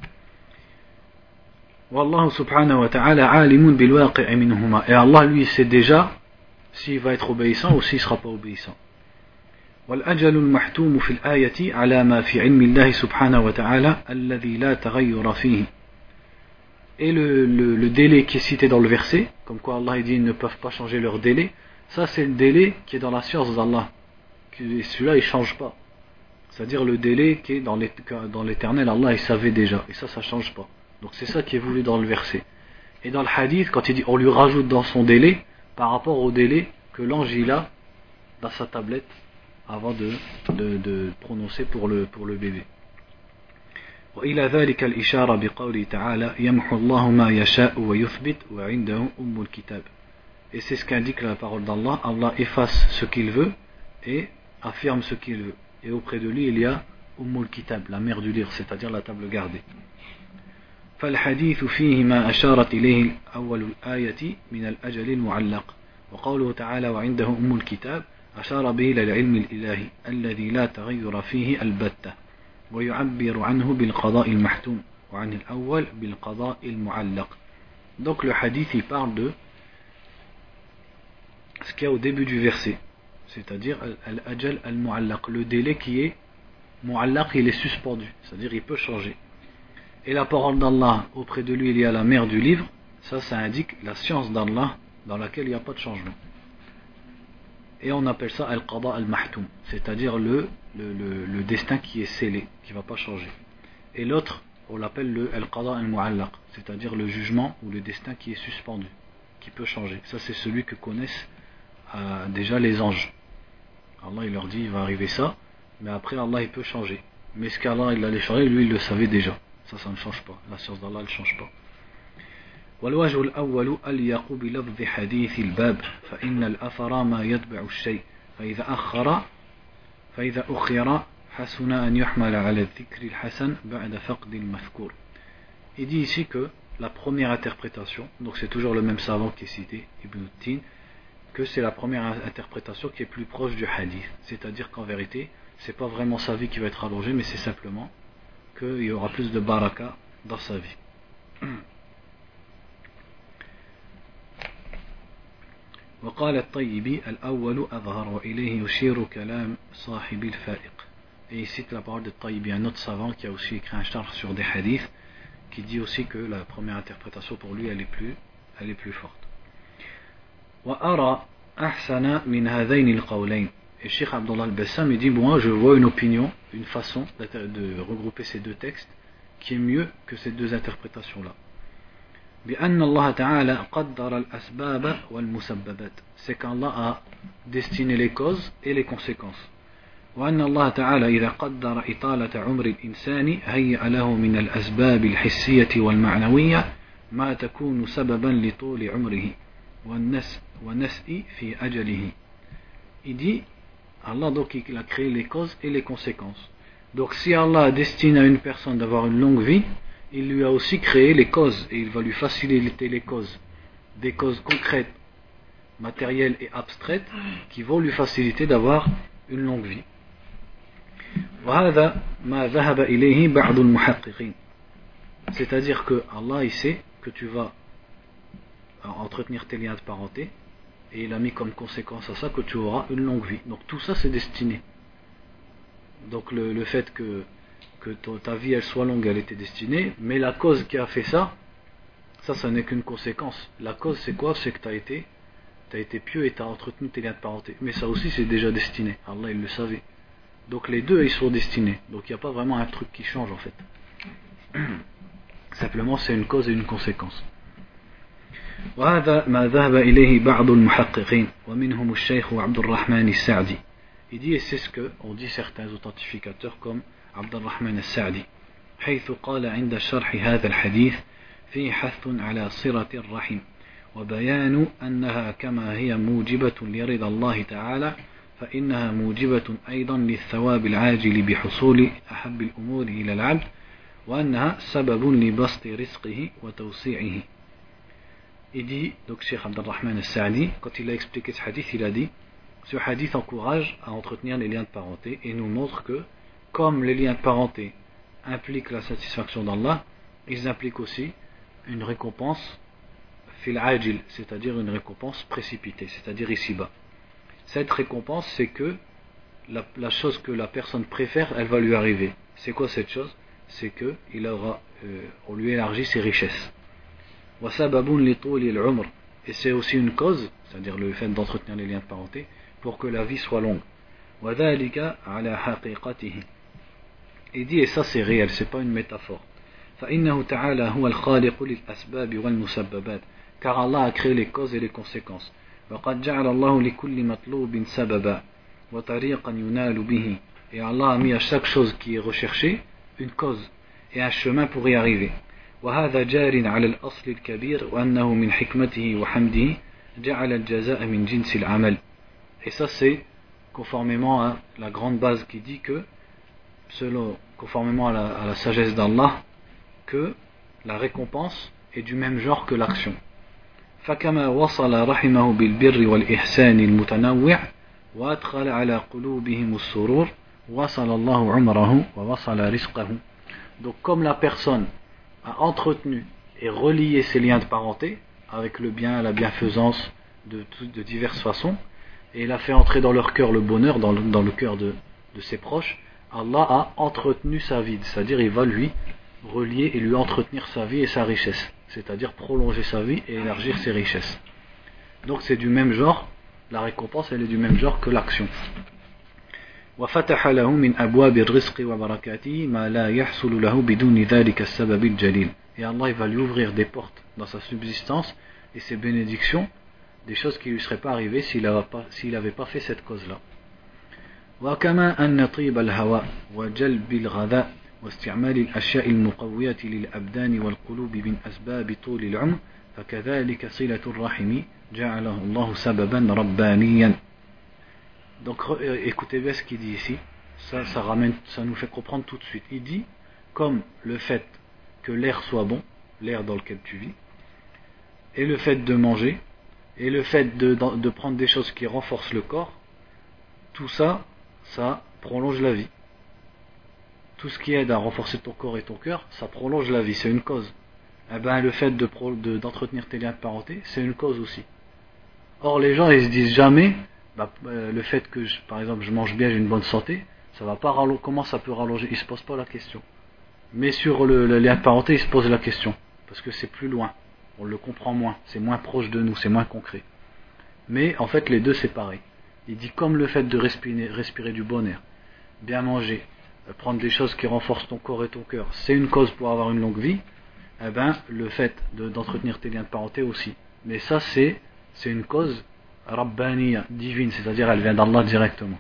Wallahu subhanahu wa ta'ala alimun bil waqi'i minhuma. Et Allah lui sait déjà s'il va être obéissant ou s'il ne sera pas obéissant. والأجل المحتوم في الآية على ما في علم الله سبحانه وتعالى الذي لا تغير فيه. Et le délai qui est cité dans le verset, comme quoi Allah dit ils ne peuvent pas changer leur délai, ça c'est le délai qui est dans la science d'Allah. Celui-là il ne change pas. C'est-à-dire le délai qui est dans l'éternel, Allah il savait déjà. Et ça ne change pas. Donc c'est ça qui est voulu dans le verset. Et dans le hadith, quand il dit on lui rajoute dans son délai, par rapport au délai que l'ange il a dans sa tablette avant de prononcer pour le bébé. وإلى ذلك الإشارة بقوله تعالى يمحو الله ما يشاء ويثبت وعنده أم الكتاب. Et c'est ce qu'indique la parole d'Allah. Allah efface ce qu'il veut et affirme ce qu'il veut. Et auprès de lui il y a Kitab, la mère du livre, c'est-à-dire la table gardée. فالحديث فيه ما أشارت إليه أول الآية من الأجل المعلق وقوله تعالى وعنده الكتاب أشار به إلى العلم الإلهي الذي لا تغير فيه البتة ويعبر عنه بالقضاء المحتوم وعن الأول بالقضاء المعلق. Donc le hadith il parle de ce qu'il y a au début du verset, c'est-à-dire al-ajal al-mu'allaq, le délai qui est mu'allaq, il est suspendu, c'est-à-dire il peut changer. Et la parole d'Allah, auprès de lui il y a la mère du livre, ça indique la science d'Allah dans laquelle il n'y a pas de changement. Et on appelle ça al-qada al-mahtoum, c'est-à-dire le destin qui est scellé, qui ne va pas changer. Et l'autre, on l'appelle le al-qada al-mu'allaq, c'est-à-dire le jugement ou le destin qui est suspendu, qui peut changer. Ça c'est celui que connaissent déjà les anges. Allah il leur dit il va arriver ça, mais après Allah il peut changer. Mais ce qu'Allah il allait changer, lui il le savait déjà. Ça ne change pas. La science d'Allah ne change pas. والوجه الأول أليق بلفظ حديث الباب فإن الأثر ما يتبع الشيء فإذا أخر حسن أن يحمل على الذكر الحسن بعد فقد المذكور. Il dit ici que la première interprétation, donc c'est toujours le même savant qui est cité, Ibn Tin, que c'est la première interprétation qui est plus proche du hadith. C'est-à-dire qu'en vérité, c'est pas vraiment sa vie qui va être allongée, mais c'est simplement qu'il y aura plus de baraka dans sa vie. وقال الطيبي الأول أظهر وإليه يشير كلام صاحب الفائق. Et il cite la parole de Taïbi, un autre savant qui a aussi écrit un charh sur des hadiths, qui dit aussi que la première interprétation pour lui elle est plus forte. وأرى أحسن من هذين القولين. Et Cheikh Abdullah al-Bassam il dit moi je vois une opinion, une façon de regrouper ces deux textes qui est mieux que ces deux interprétations là. بأن الله تعالى قدر الأسباب والمسببات, c'est qu'Allah a destiné les causes et les conséquences. وأن الله تعالى إذا قدر إطالة عمر الإنسان هيأ له من الأسباب الحسية والمعنوية ما تكون سببا لطول عمره والنسء في أجله. Il dit Allah donc il a créé les causes et les conséquences. Donc si Allah destine à une personne d'avoir une longue vie, il lui a aussi créé les causes et il va lui faciliter les causes, des causes concrètes, matérielles et abstraites qui vont lui faciliter d'avoir une longue vie. وهذا ما ذهب إليه بعض المحققين. C'est-à-dire que Allah il sait que tu vas entretenir tes liens de parenté et il a mis comme conséquence à ça que tu auras une longue vie. Donc tout ça c'est destiné. Donc le fait que ta vie elle soit longue, elle était destinée, mais la cause qui a fait ça n'est qu'une conséquence. La cause c'est quoi? C'est que tu as été pieux et tu as entretenu tes liens de parenté. Mais ça aussi c'est déjà destiné. Allah il le savait. Donc les deux ils sont destinés. Donc il n'y a pas vraiment un truc qui change en fait. Simplement c'est une cause et une conséquence. وهذا ما ذهب إليه بعض المحققين ومنهم الشيخ عبد الرحمن السعدي. Il dit et c'est ce que on dit certains authentificateurs comme عبد الرحمن السعدي حيث قال عند شرح هذا الحديث فيه حث على صلة الرحم وبيان أنها كما هي موجبة لرضا الله تعالى فإنها موجبة أيضا للثواب العاجل بحصول أحب الأمور إلى العبد وأنها سبب لبسط رزقه وتوسيعه. Il dit, donc Cheikh Abdurrahman al-Sa'di, quand il a expliqué ce hadith, il a dit ce hadith encourage à entretenir les liens de parenté et nous montre que, comme les liens de parenté impliquent la satisfaction d'Allah, ils impliquent aussi une récompense fil ajil, c'est-à-dire une récompense précipitée, c'est-à-dire ici-bas. Cette récompense, c'est que la chose que la personne préfère, elle va lui arriver. C'est quoi cette chose? C'est que on lui élargit ses richesses. Et c'est aussi une cause, c'est-à-dire le fait d'entretenir les liens de parenté, pour que la vie soit longue. Il dit, et ça c'est réel, c'est pas une métaphore. Car Allah a créé les causes et les conséquences. Et Allah a mis à chaque chose qui est recherchée une cause et un chemin pour y arriver. وهذا جار على الأصل الكبير وأنه من حكمته وحمده جعل الجزاء من جنس العمل. Et ça c'est conformément à la grande base qui dit que conformément à la sagesse d'Allah, que la récompense est du même genre que l'action. فكما وصل رحمه بالبر والإحسان المتنوع وأدخل على قلوبهم السرور وصل الله عمره ووصل رزقه. Donc comme la personne a entretenu et relié ses liens de parenté avec le bien, la bienfaisance de diverses façons, et il a fait entrer dans leur cœur le bonheur, dans le cœur de ses proches, Allah a entretenu sa vie, c'est-à-dire il va lui relier et lui entretenir sa vie et sa richesse, c'est-à-dire prolonger sa vie et élargir ses richesses. Donc c'est du même genre, la récompense elle est du même genre que l'action. وفتح له من أبواب الرزق وبركاته ما لا يحصل له بدون ذلك السبب الجليل. Et Allah il va lui ouvrir des portes dans sa subsistance et ses bénédictions, des choses qui ne lui seraient pas arrivées s'il n'avait pas fait cette cause-là. وكما أن طيب الهواء وجلب الغذاء واستعمال الأشياء المقوية للأبدان والقلوب من أسباب طول العمر فكذلك صلة الرحم جعله الله سببا ربانيا. Donc écoutez bien ce qu'il dit ici, ça nous fait comprendre tout de suite. Il dit, comme le fait que l'air soit bon, l'air dans lequel tu vis, et le fait de manger, et le fait de prendre des choses qui renforcent le corps, tout ça, ça prolonge la vie. Tout ce qui aide à renforcer ton corps et ton cœur, ça prolonge la vie, c'est une cause. Eh ben, le fait d'entretenir tes liens de parenté, c'est une cause aussi. Or, les gens, ils se disent jamais, le fait que, par exemple, je mange bien, j'ai une bonne santé, ça va pas comment ça peut rallonger, ils se posent pas la question. Mais sur le lien de parenté, ils se posent la question, parce que c'est plus loin, on le comprend moins, c'est moins proche de nous, c'est moins concret. Mais en fait, les deux, c'est pareil. Il dit comme le fait de respirer du bon air, bien manger, prendre des choses qui renforcent ton corps et ton cœur, c'est une cause pour avoir une longue vie, eh ben, le fait d'entretenir tes liens de parenté aussi. Mais ça, c'est une cause rabbaniya, divine, c'est-à-dire elle vient d'Allah directement.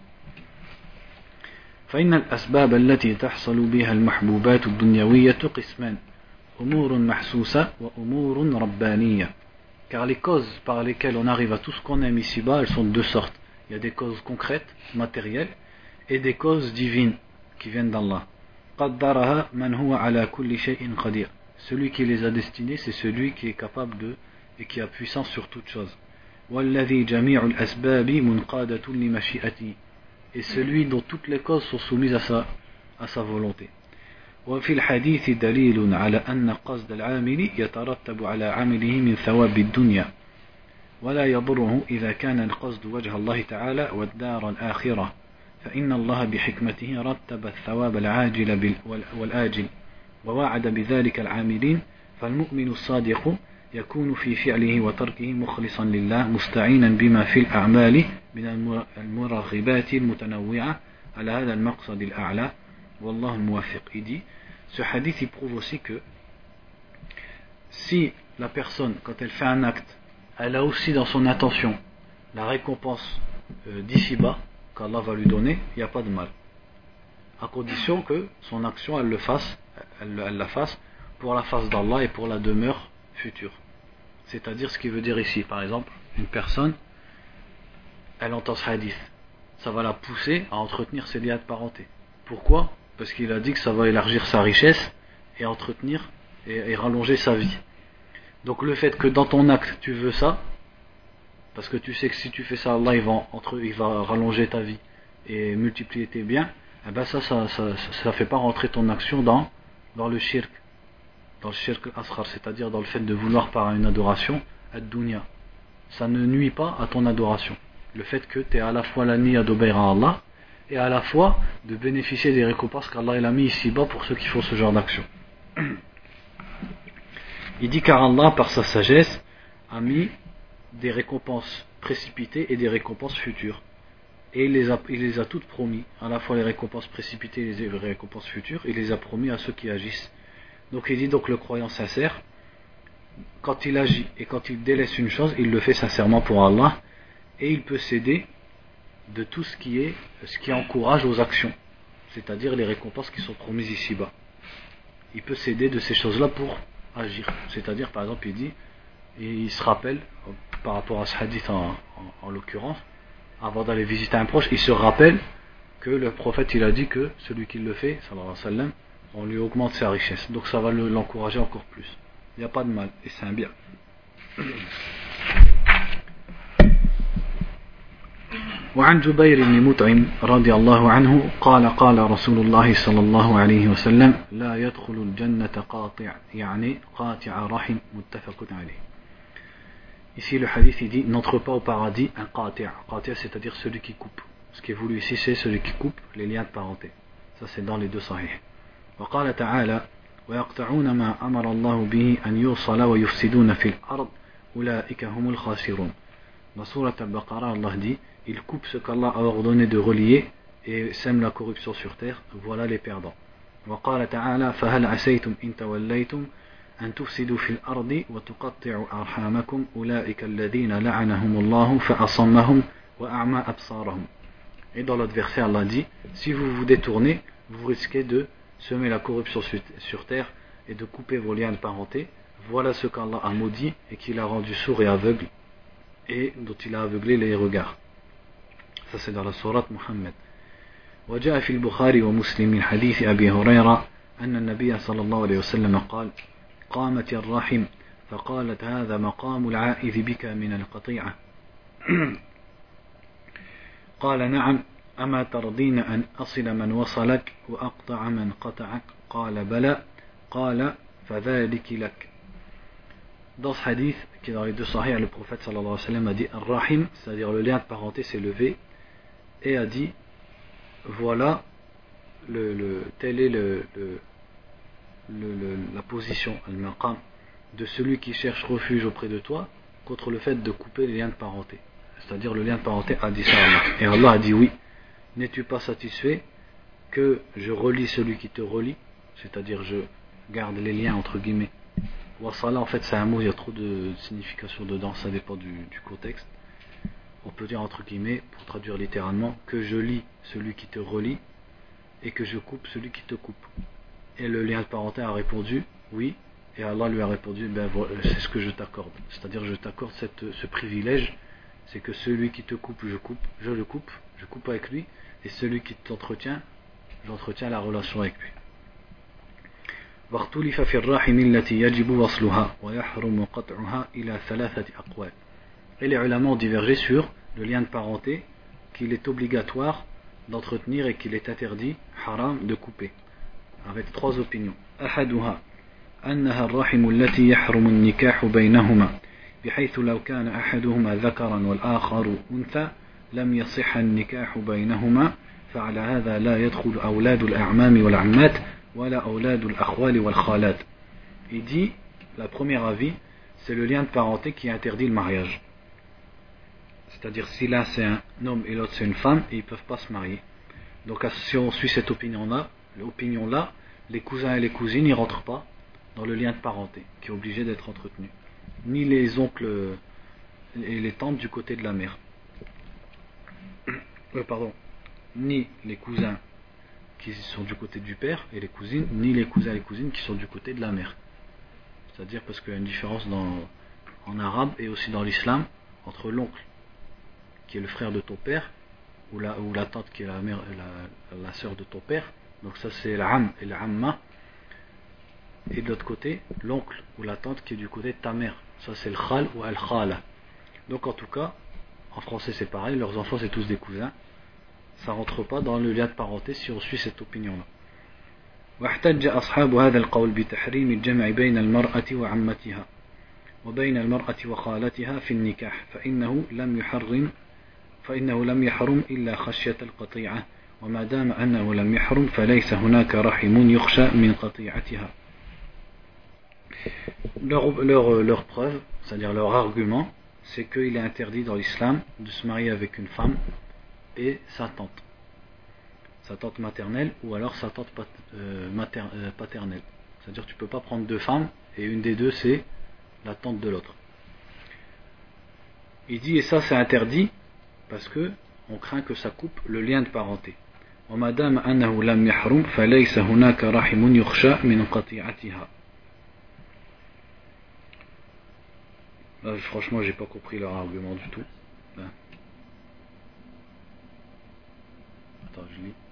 فإن الأسباب التي تحصل بها المحبوبات الدنيوية قسمان أمور محسوسة وأمور ربانية. Car les causes par lesquelles on arrive à tout ce qu'on aime ici-bas, elles sont de deux sortes. Il y a des causes concrètes, matérielles, et des causes divines qui viennent d'Allah. قدرها من هو على كل شيء قدير. Celui qui les a destinées, c'est celui qui est capable de et qui a puissance sur toute chose. والذي جميع الأسباب منقادة لمشيئته. Et celui dont toutes les causes sont soumises à sa volonté. وفي الحديث دليل على أن قصد العامل يترتب على عمله من ثواب الدنيا ولا يضره إذا كان القصد وجه الله تعالى والدار الآخرة فإن الله بحكمته رتب الثواب العاجل والآجل ووعد بذلك العاملين فالمؤمن الصادق يكون في فعله وتركه مخلصا لله مستعينا بما في الأعمال من المرغبات المتنوعة على هذا المقصد الأعلى والله الموفق. Il dit, ce hadith il prouve aussi que si la personne quand elle fait un acte elle a aussi dans son intention la récompense d'ici-bas qu'Allah va lui donner, il n'y a pas de mal, à condition que son action elle la fasse pour la face d'Allah et pour la demeure future. C'est-à-dire ce qui veut dire ici, par exemple, une personne elle entend ce hadith, ça va la pousser à entretenir ses liens de parenté. Pourquoi? Parce qu'il a dit que ça va élargir sa richesse et entretenir et rallonger sa vie. Donc le fait que dans ton acte tu veux ça, parce que tu sais que si tu fais ça, Allah il va rallonger ta vie et multiplier tes biens, eh ben ça fait pas rentrer ton action dans le shirk, dans le shirk al-asghar, c'est-à-dire dans le fait de vouloir par une adoration ad-dunya. Ça ne nuit pas à ton adoration. Le fait que tu aies à la fois la niya d'obéir à Allah et à la fois de bénéficier des récompenses qu'Allah il a mis ici-bas pour ceux qui font ce genre d'action. Il dit car Allah par sa sagesse a mis des récompenses précipitées et des récompenses futures. Et il les a toutes promis, à la fois les récompenses précipitées et les récompenses futures, il les a promis à ceux qui agissent. Donc il dit donc le croyant sincère, quand il agit et quand il délaisse une chose, il le fait sincèrement pour Allah et il peut céder de tout ce qui encourage aux actions, c'est-à-dire les récompenses qui sont promises ici-bas. Il peut céder de ces choses-là pour agir, c'est-à-dire par exemple il dit, et il se rappelle par rapport à ce hadith en l'occurrence, avant d'aller visiter un proche, il se rappelle que le prophète il a dit que celui qui le fait, sallallahu alayhi wa sallam, on lui augmente sa richesse. Donc ça va l'encourager encore plus. Il n'y a pas de mal, et c'est un bien. وعن جبير بن مطعم رضي الله عنه قال قال رسول الله صلى الله عليه وسلم لا يدخل الجنة قاطع يعني قاطع رحم متفق عليه. Ici le hadith il dit n'entre pas au paradis un qati'. Qati' c'est-à-dire celui qui coupe. Ce qui est voulu ici c'est celui qui coupe les liens de parenté. Ça c'est dans les deux sahih. وقال تعالى ويقطعون ما أمر الله به أن يوصل ويفسدون في الأرض أولئك هم الخاسرون. Dans Surat Al-Baqarah, Allah dit ils coupent ce qu'Allah a ordonné de relier et sèment la corruption sur terre, voilà les perdants. وقال تعالى فهل عسيتم إن توليتم أن تفسدوا في الأرض وتقطعوا أرحامكم أولئك الذين لعنهم الله فأصمهم وأعمى أبصارهم. Et dans l'autre verset, Allah dit si vous vous détournez, vous risquez de semer la corruption sur terre et de couper vos liens de parenté. Voilà ce qu'Allah a maudit et qu'il a rendu sourd et aveugle et dont il a aveuglé les regards. Ça c'est dans la sourate Muhammad. وجاء في البخاري ومسلم من حديث أبي هريرة أن النبي صلى الله عليه وسلم قال قامت الرحم فقالت هذا مقام العائذ بك من القطيعة قال نعم أما ترضين أن أصل من وصلك وأقطع من قطعك قال بلى قال فذلك لك. Dans ce hadith qui est dans les deux sahih, le prophète sallallahu alayhi wa sallam a dit Ar-Rahim, c'est-à-dire le lien de parenté s'est levé et a dit voilà telle est la position, al-maqam, de celui qui cherche refuge auprès de toi contre le fait de couper les liens de parenté. C'est-à-dire le lien de parenté a dit ça à Allah. Et Allah a dit oui, n'es-tu pas satisfait que je relie celui qui te relie, c'est-à-dire je garde les liens entre guillemets. Wasala en fait c'est un mot, il y a trop de signification dedans, ça dépend du contexte. On peut dire entre guillemets, pour traduire littéralement, que je lie celui qui te relie et que je coupe celui qui te coupe. Et le lien de parenté a répondu oui, et Allah lui a répondu ben voilà, c'est ce que je t'accorde. C'est-à-dire je t'accorde ce privilège, c'est que celui qui te coupe, je le coupe, je coupe avec lui, et celui qui t'entretient, j'entretiens la relation avec lui. واختلف في الرحم التي يجب وصلها ويحرم قطعها إلى ثلاثة أقوال. Et les ulama ont divergé sur le lien de parenté qu'il est obligatoire d'entretenir et qu'il est interdit, haram, de couper, avec trois opinions. أحدها أنها الرحم التي يحرم النكاح بينهما بحيث لو كان أحدهما ذكرا والآخر أنثى لم يصح النكاح بينهما فعلى هذا لا يدخل أولاد الأعمام والعمات ولا أولاد الأخوال والخالات. Il dit, la première avis, c'est le lien de parenté qui interdit le mariage. C'est-à-dire si l'un c'est un homme et l'autre c'est une femme, et ils ne peuvent pas se marier. Donc si on suit cette opinion-là, les cousins et les cousines n'y rentrent pas dans le lien de parenté, qui est obligé d'être entretenu. Ni les oncles et les tantes du côté de la mère. Ni les cousins qui sont du côté du père et les cousines, ni les cousins et les cousines qui sont du côté de la mère. C'est-à-dire parce qu'il y a une différence en arabe et aussi dans l'islam entre l'oncle qui est le frère de ton père ou la tante qui est la sœur de ton père, donc ça c'est l'am et l'amma, et de l'autre côté l'oncle ou la tante qui est du côté de ta mère, ça c'est le khal ou al-khala. Donc en tout cas en français c'est pareil, leurs enfants c'est tous des cousins, ça rentre pas dans le lien de parenté si on suit cette opinion-là. واحتج أصحاب هذا القول بتحريم الجمع بين المرأة وعمتها وبين المرأة وخالتها في النكاح فإنه لم يحرم إلا خشية القطيعة وما دام أنه لم يحرم فليس هناك رحم يخشى من قطيعتها. Leur preuve, c'est-à-dire leur argument, c'est qu'il est interdit dans l'islam de se marier avec une femme et sa tante maternelle ou alors sa tante paternelle. C'est-à-dire tu ne peux pas prendre deux femmes et une des deux c'est la tante de l'autre. Il dit et ça c'est interdit parce que on craint que ça coupe le lien de parenté. وَمَا أَنَّهُ لَمْ يَحْرُمْ فَلَيْسَ هُنَاكَ رَحِمٌ يُخْشَى مِنْ قَطِيعَتِهَا. Franchement j'ai pas compris leur argument du tout. Attends, je lis.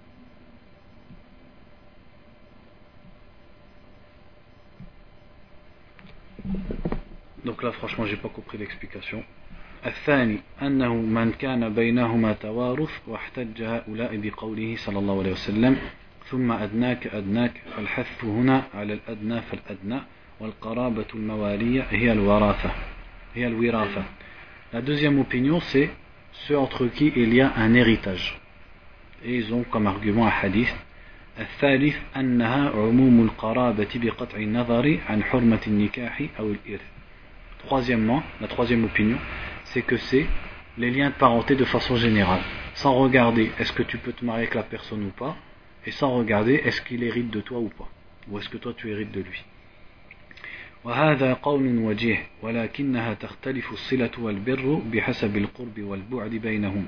Donc là franchement j'ai pas compris l'explication. الثاني أنه من كان بينهما توارث واحتج هؤلاء بقوله صلى الله عليه وسلم ثم أدناك أدناك فالحث هنا على الأدنى فالأدنى والقرابة الموالية هي الوراثة. La deuxième opinion c'est ceux entre qui il y a un héritage. Et ils ont comme argument un hadith. الثالث أنها عموم القرابة بقطع النظر عن حرمة النكاح أو الإرث. Troisièmement, la troisième opinion, c'est que c'est les liens de parenté de façon générale, sans regarder est-ce que tu peux te marier avec la personne ou pas, et sans regarder est-ce qu'il hérite de toi ou pas, ou est-ce que toi tu hérites de lui. وهذا قول وجيه ولكنها تختلف الصلة والبر بحسب القرب والبعد بينهم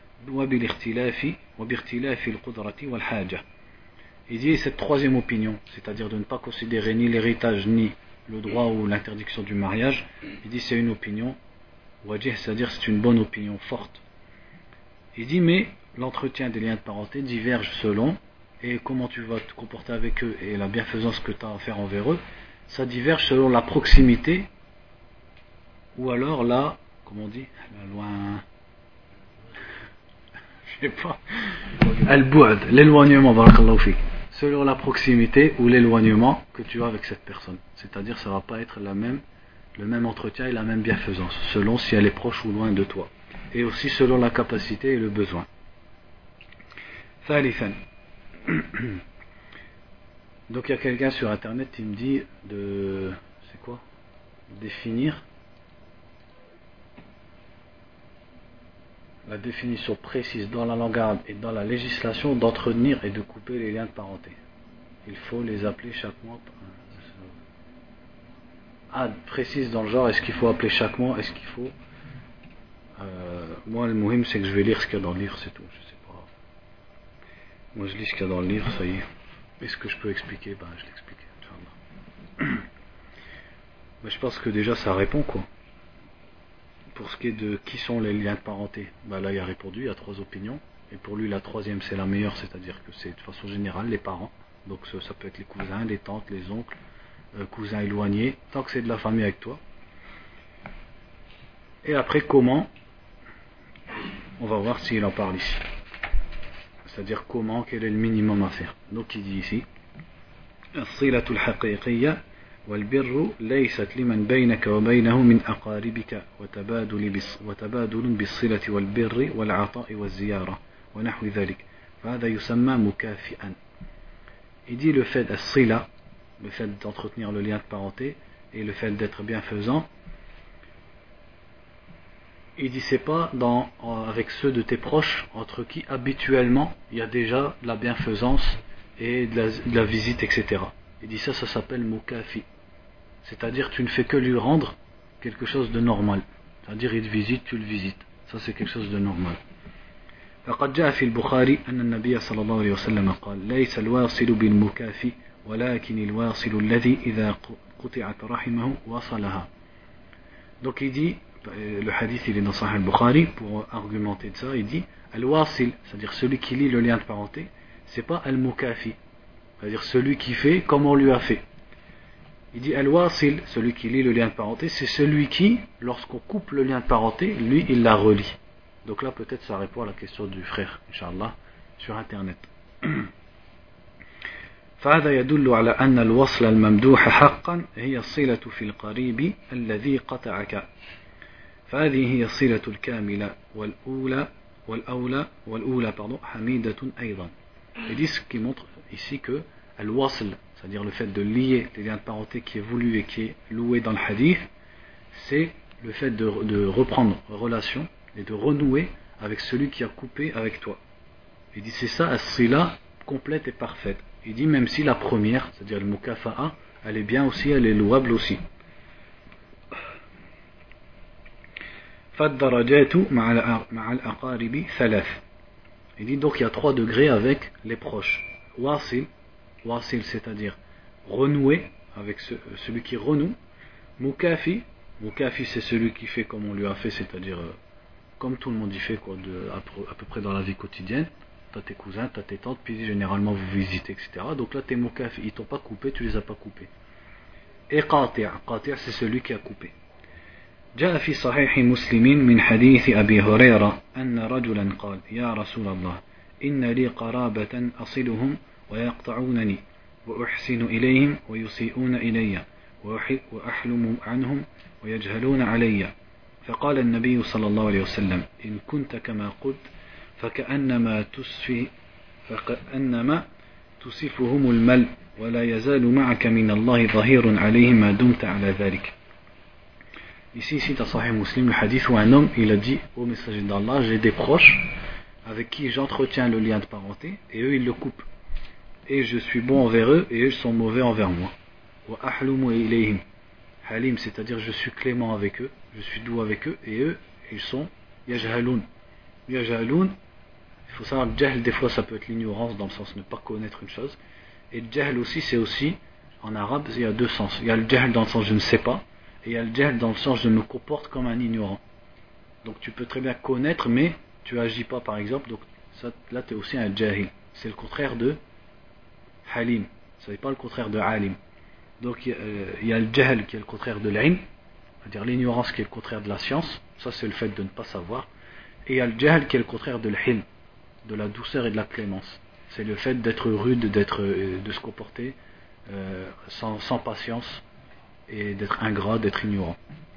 وباختلاف القدرة والحاجة. Il dit cette troisième opinion, c'est-à-dire de ne pas considérer ni l'héritage ni le droit ou l'interdiction du mariage, il dit c'est une opinion wajih, c'est-à-dire c'est une bonne opinion forte. Il dit mais l'entretien des liens de parenté diverge selon, et comment tu vas te comporter avec eux et la bienfaisance que tu as à faire envers eux, ça diverge selon la proximité ou alors la, comment on dit, la loin, je sais pas, al-bu'd, l'éloignement, barakallahu fik, selon la proximité ou l'éloignement que tu as avec cette personne. C'est-à-dire ça va pas être le même entretien et la même bienfaisance, selon si elle est proche ou loin de toi. Et aussi selon la capacité et le besoin. ثالثا. Donc il y a quelqu'un sur internet qui me dit de... C'est quoi? Définir la définition précise dans la langue arabe et dans la législation d'entretenir et de couper les liens de parenté. Il faut les appeler chaque mois. Ah, précise dans le genre, est-ce qu'il faut appeler chaque mois, est-ce qu'il faut... moi le muhim c'est que je vais lire ce qu'il y a dans le livre, c'est tout, je sais pas. Moi je lis ce qu'il y a dans le livre, ça y est. Est-ce que je peux expliquer? Ben je l'explique, Inch'Allah. Mais je pense que déjà ça répond quoi. Pour ce qui est de qui sont les liens de parenté, ben là il a répondu, il y a trois opinions. Et pour lui la troisième c'est la meilleure, c'est-à-dire que c'est de façon générale les parents. Donc ça peut être les cousins, les tantes, les oncles, cousins éloignés, tant que c'est de la famille avec toi. Et après comment, on va voir s'il en parle ici. C'est-à-dire comment, quel est le minimum à faire. Donc il dit ici الصلة الحقيقية والبر ليست لمن بينك وبينه من أقاربك وتبادل بالصلة والبر والعطاء والزيارة ونحو ذلك فهذا يسمى مكافئا. Il dit le fait الصلة, le fait d'entretenir le lien de parenté et le fait d'être bienfaisant, il dit c'est pas avec ceux de tes proches entre qui habituellement il y a déjà de la bienfaisance et de la visite, etc. Il dit ça s'appelle mukafi, c'est-à-dire tu ne fais que lui rendre quelque chose de normal, c'est-à-dire il te visite, tu le visites, ça c'est quelque chose de normal. فقد جاء في البخاري أن النبي صلى الله عليه وسلم قال ليس الواصل بالمكافي ولكن الواصل الذي إذا قطعت رحمه وصلها. Donc il dit, le hadith il est dans Sahih al-Bukhari, pour argumenter de ça, il dit al-wasil, c'est-à-dire celui qui lie le lien de parenté, c'est pas al-mukafi, c'est-à-dire celui qui fait comme on lui a fait. Il dit al-wasil, celui qui lie le lien de parenté, c'est celui qui, lorsqu'on coupe le lien de parenté, lui il la relie. Donc là peut-être ça répond à la question du frère, Inch'Allah, sur internet. فهذا يدل على أن الوصل الممدوح حقا هي الصلة في القريب الذي قطعك فهذه هي الصلة الكاملة والأولى حميدة أيضا. Il dit ce qui montre ici que al-wasl, c'est-à-dire le fait de lier les liens de parenté qui est voulu et qui est loué dans le hadith, c'est le fait de reprendre relation et de renouer avec celui qui a coupé avec toi. Il dit c'est ça as-sila complète et parfaite. Il dit même si la première, c'est-à-dire le mukafa'a, elle est bien aussi, elle est louable aussi. فالدرجات مع الأقارب ثلاث. Il dit donc il y a 3 degrés avec les proches. Wasil, c'est-à-dire renouer avec celui qui renoue. Mukafi c'est celui qui fait comme on lui a fait, c'est-à-dire comme tout le monde y fait quoi, à peu près dans la vie quotidienne. t'as tes cousins, t'as tes tantes, puis généralement vous visitez, etc. Donc là tes mukaf, ils t'ont pas coupé, tu les as pas coupés. Et qati', c'est celui qui a coupé. جاء في صحيح مسلم من حديث أبي هريرة أن رجلا قال يا رسول الله إن لي قرابة أصلهم ويقطعونني وأحسن إليهم ويسيئون إلي وأحلم عنهم ويجهلون علي فقال النبي صلى الله عليه وسلم إن كنت كما قلت فكأنما تصفهم المل ولا يزال معك من الله ظهير عليهم ما دمت على ذلك. Ici, dans Sahih Muslim, le hadith où un homme, il a dit au messager d'Allah, j'ai des proches avec qui j'entretiens le lien de parenté, et eux, ils le coupent. Et je suis bon envers eux, et eux, ils sont mauvais envers moi. Wa ahlumu ilayhim. Halim, c'est-à-dire je suis clément avec eux, je suis doux avec eux, et eux, ils sont yajhaloun. Yajhaloun, il faut savoir que jahl, des fois, ça peut être l'ignorance, dans le sens de ne pas connaître une chose. Et jahl aussi, c'est aussi, en arabe, il y a deux sens. Il y a le jahl dans le sens je ne sais pas, et il y a le jahl dans le sens je me comporte comme un ignorant. Donc tu peux très bien connaître mais tu agis pas par exemple, donc ça, là tu es aussi un jahil. C'est le contraire de halim, ça n'est pas le contraire de alim. Donc il y a le jahl qui est le contraire de l'ilm, c'est-à-dire l'ignorance qui est le contraire de la science, ça c'est le fait de ne pas savoir. Et il y a le jahl qui est le contraire de l'hilm, de la douceur et de la clémence. C'est le fait d'être rude, de se comporter sans patience, et d'être ingrat, d'être ignorant.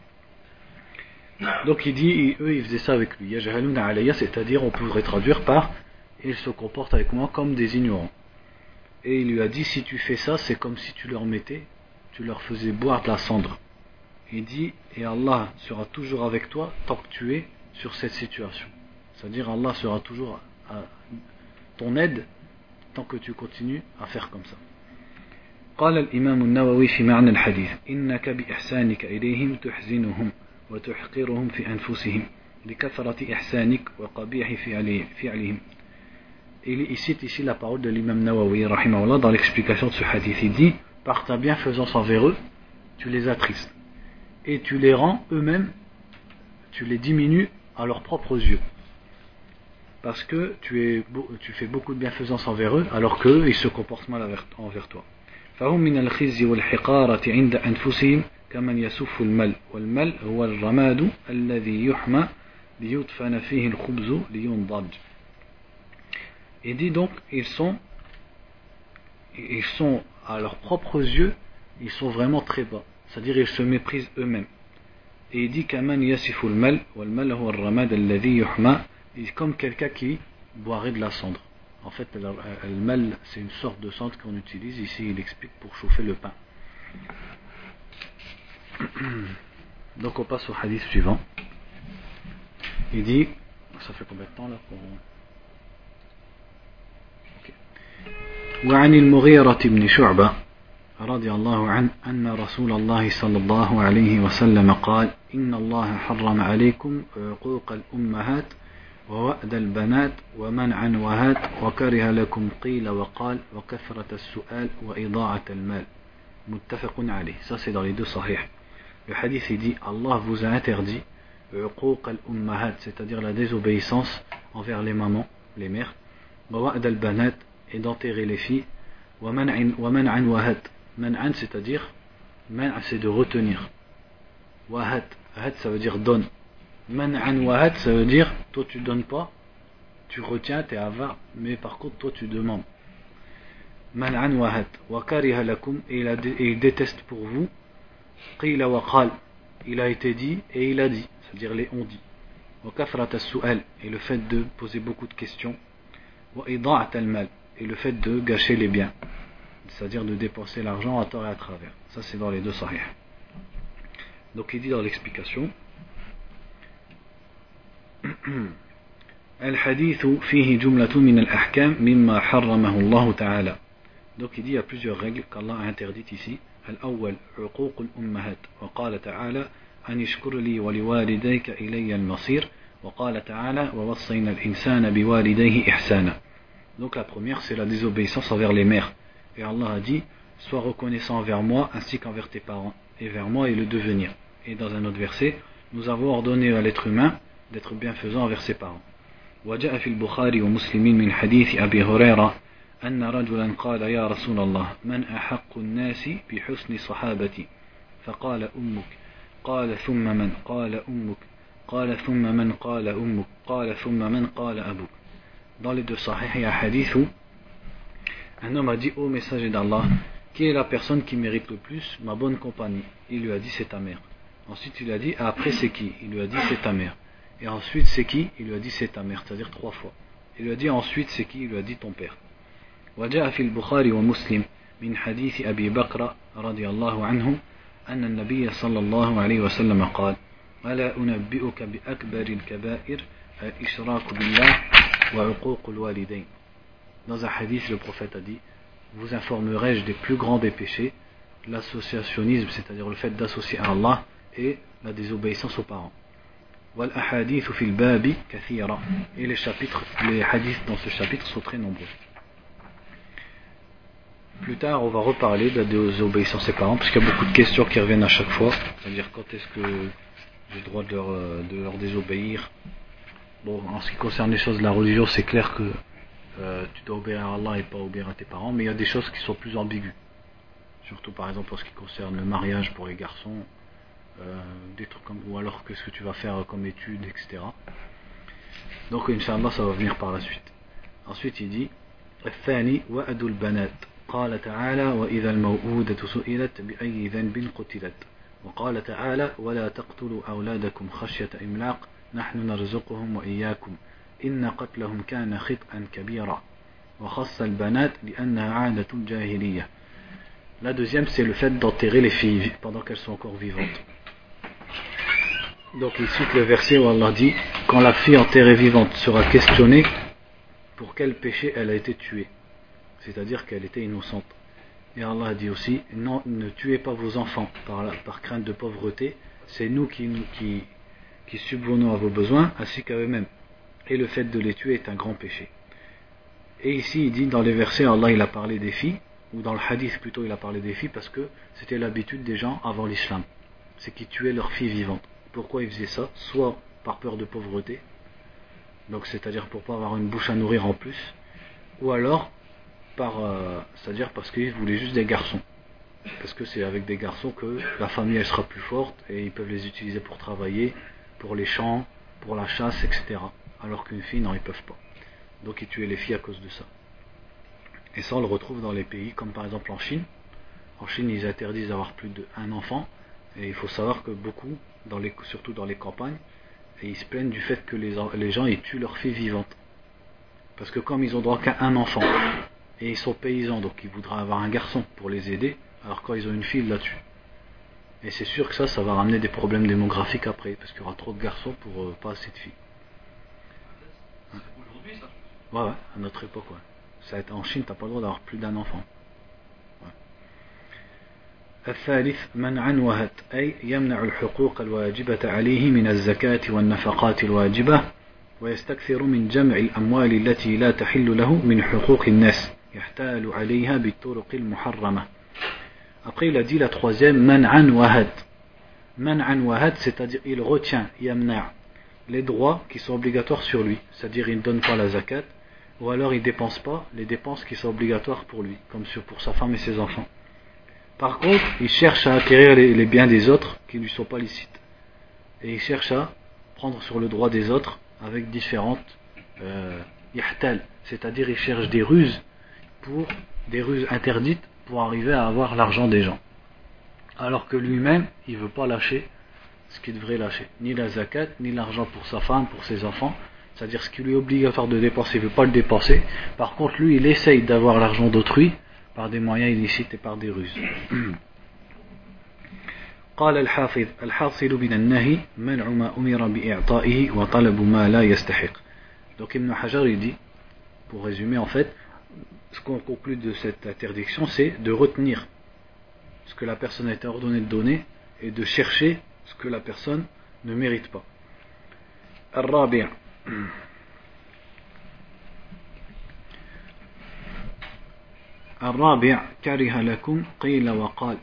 Donc il dit, eux ils faisaient ça avec lui. Yajhaluna alayya, c'est-à-dire on pourrait traduire par ils se comportent avec moi comme des ignorants. Et il lui a dit, si tu fais ça, c'est comme si tu leur faisais boire de la cendre. Il dit, et Allah sera toujours avec toi tant que tu es sur cette situation. C'est-à-dire Allah sera toujours à ton aide tant que tu continues à faire comme ça. قال الإمام النووي في معنى الحديث إنك بإحسانك إليهم تحزنهم وتحقرهم في أنفسهم لكثرة إحسانك وقبيح فعلهم. Il cite ici la parole de l'imam Nawawi rahimahullah dans l'explication de ce hadith. Il dit, par ta bienfaisance envers eux, tu les attristes et tu les rends eux-mêmes, tu les diminues à leurs propres yeux, parce que tu fais beaucoup de bienfaisance envers eux alors qu'eux ils se comportent mal envers toi. فهم من الخزي والحقارة عند أنفسهم كمن يسف المل والمل هو الرماد الذي يحمى ليدفن فيه الخبز لينضج. Il dit donc ils sont à leurs propres yeux, ils sont vraiment très bas, c'est-à-dire ils se méprisent eux-mêmes. Et il dit كمن يسف المل والمل هو الرماد الذي يحمى, comme quelqu'un qui boirait de la cendre. En fait, le mal, c'est une sorte de cendre qu'on utilise. Ici, il explique pour chauffer le pain. Donc, on passe au hadith suivant. Il dit, ça fait combien de temps là pour... وعن المغيرة بن شعبة رضي الله عنه أن رسول الله صلى الله عليه وسلم قال إن الله حرم عليكم عقوق الأمهات ووأد البنات ومنعا وهات وكره لكم قيل وقال وكثرة السؤال وإضاعة المال متفق عليه. Ça c'est dans les deux sahih. Le hadith il dit Allah vous a interdit عقوق الأمهات, c'est-à-dire la désobéissance envers les mamans, les mères, ووأد البنات, et d'enterrer les filles, ومنعا وهات, منعا c'est-à-dire منع c'est de retenir, وهات, هات ça veut dire donne. Man'an wahat, ça veut dire toi tu donnes pas, tu retiens, t'es avare, mais par contre toi tu demandes. Man'an wahat, wa kariha lakum, et il déteste pour vous. Qila wa qal, il a été dit et il a dit, c'est-à-dire les on dit. Wa kafrat as-su'al, et le fait de poser beaucoup de questions. Wa ida'at al-mal, et le fait de gâcher les biens, c'est-à-dire de dépenser l'argent à tort et à travers. Ça c'est dans les deux sahih. Donc il dit dans l'explication, الحديث فيه جملة من الأحكام مما حرمه الله تعالى. Donc il dit il y a plusieurs règles qu'Allah a interdites ici. الأول عقوق الأمهات, وقال تعالى أن اشكر لي ولوالديك إلي المصير, وقال تعالى ووصينا الإنسان بوالديه إحسانا. Donc la première c'est la désobéissance envers les mères, et Allah a dit sois reconnaissant envers moi ainsi qu'envers tes parents, et vers moi et le devenir. Et dans un autre verset, nous avons ordonné à l'être humain d'être bienfaisant envers ses parents. وجاء في البخاري ومسلم من حديث أبي هريرة أن رجلا قال يا رسول الله من أحق الناس بحسن صحابتي فقال أمك قال ثم من قال أمك قال ثم من قال أمك قال ثم من قال أبوك. Dans les deux sahih, il y a un hadith où un homme a dit ô messager d'Allah, qui est la personne qui mérite le plus ma bonne compagnie? Il lui a dit c'est ta mère. Ensuite il a dit après c'est qui? Il lui a dit c'est ta mère. Et ensuite c'est qui? Il lui a dit c'est ta mère, c'est-à-dire 3 fois. Il lui a dit ensuite c'est qui? Il lui a dit ton père. وجاء في البخاري ومسلم من حديث أبي بكر رضي الله عنه أن النبي صلى الله عليه وسلم قال ألا أنبئك بأكبر الكبائر الإشراك بالله وعقوق الوالدين. Dans un hadith, le prophète a dit vous informerai-je des plus grands des péchés, l'associationnisme, c'est-à-dire le fait d'associer à Allah, et la désobéissance aux parents. Wal ahadith fil babi kathira, et les hadiths dans ce chapitre sont très nombreux. Plus tard, on va reparler de la désobéissance aux parents, parce qu'il y a beaucoup de questions qui reviennent à chaque fois, c'est-à-dire quand est-ce que j'ai le droit de leur désobéir. Bon, en ce qui concerne les choses de la religion, c'est clair que tu dois obéir à Allah et pas obéir à tes parents, mais il y a des choses qui sont plus ambiguës, surtout par exemple en ce qui concerne le mariage pour les garçons, des trucs comme, ou alors qu'est-ce que tu vas faire comme études, etc. Donc Inch'Allah ça va venir par la suite. Ensuite il dit الثاني وأد البنات قال تعالى وإذا الموءودة سئلت بأي ذنب قتلت وقال تعالى ولا تقتلوا أولادكم خشية إملاق نحن نرزقهم وإياكم إن قتلهم كان خطأ كبيرا وخص البنات لأنها عادة الجاهلية. La deuxième c'est le fait d'enterrer les filles pendant qu'elles sont encore vivantes. Donc il cite le verset où Allah dit quand la fille enterrée vivante sera questionnée pour quel péché elle a été tuée, c'est-à-dire qu'elle était innocente. Et Allah dit aussi non, ne tuez pas vos enfants par crainte de pauvreté, c'est nous qui subvenons à vos besoins ainsi qu'à eux-mêmes. Et le fait de les tuer est un grand péché. Et ici il dit dans les versets Allah il a parlé des filles, ou dans le hadith plutôt il a parlé des filles parce que c'était l'habitude des gens avant l'islam, c'est qu'ils tuaient leurs filles vivantes. Pourquoi ils faisaient ça? Soit par peur de pauvreté, donc c'est-à-dire pour pas avoir une bouche à nourrir en plus, ou alors c'est-à-dire parce qu'ils voulaient juste des garçons, parce que c'est avec des garçons que la famille elle sera plus forte et ils peuvent les utiliser pour travailler, pour les champs, pour la chasse, etc. Alors qu'une fille non ils peuvent pas, donc ils tuaient les filles à cause de ça. Et ça on le retrouve dans les pays comme par exemple en Chine. En Chine ils interdisent d'avoir plus d'un enfant, et il faut savoir que beaucoup, surtout dans les campagnes, et ils se plaignent du fait que les gens ils tuent leurs filles vivantes, parce que comme ils ont droit qu'à un enfant et ils sont paysans, donc ils voudraient avoir un garçon pour les aider, alors quand ils ont une fille ils la tuent. Et c'est sûr que ça va ramener des problèmes démographiques après, parce qu'il y aura trop de garçons pour pas assez de filles. Aujourd'hui ça? Ouais, à notre époque, ouais. Ça a été en Chine, t'as pas le droit d'avoir plus d'un enfant. الثالث منعا وهت أي يمنع الحقوق الواجبة عليه من الزكاة والنفقات الواجبة ويستكثر من جمع الأموال التي لا تحل له من حقوق الناس يحتال عليها بالطرق المحرمة. Après il a dit la troisième منعا وهت. منعا وهت, c'est-à-dire il retient يمنع les droits qui sont obligatoires sur lui, c'est-à-dire il ne donne pas la zakat, ou alors il ne dépense pas les dépenses qui sont obligatoires pour lui, comme pour sa femme et ses enfants. Par contre, il cherche à acquérir les biens des autres qui ne lui sont pas licites. Et il cherche à prendre sur le droit des autres avec différentes yahtal, c'est-à-dire il cherche des ruses interdites pour arriver à avoir l'argent des gens. Alors que lui-même, il ne veut pas lâcher ce qu'il devrait lâcher. Ni la zakat, ni l'argent pour sa femme, pour ses enfants. C'est-à-dire ce qui lui est obligatoire de dépenser, il ne veut pas le dépenser. Par contre, lui, il essaye d'avoir l'argent d'autrui par des moyens illicites et par des ruses. قال الحافظ الحاصل من النهي منع ما أمر بإعطائه وطلب ما لا يستحق. Donc Ibn Hajar il dit, pour résumer en fait, ce qu'on conclut de cette interdiction c'est de retenir ce que la personne a été ordonnée de donner et de chercher ce que la personne ne mérite pas. الرابع الرابع كره لكم قيل وقال.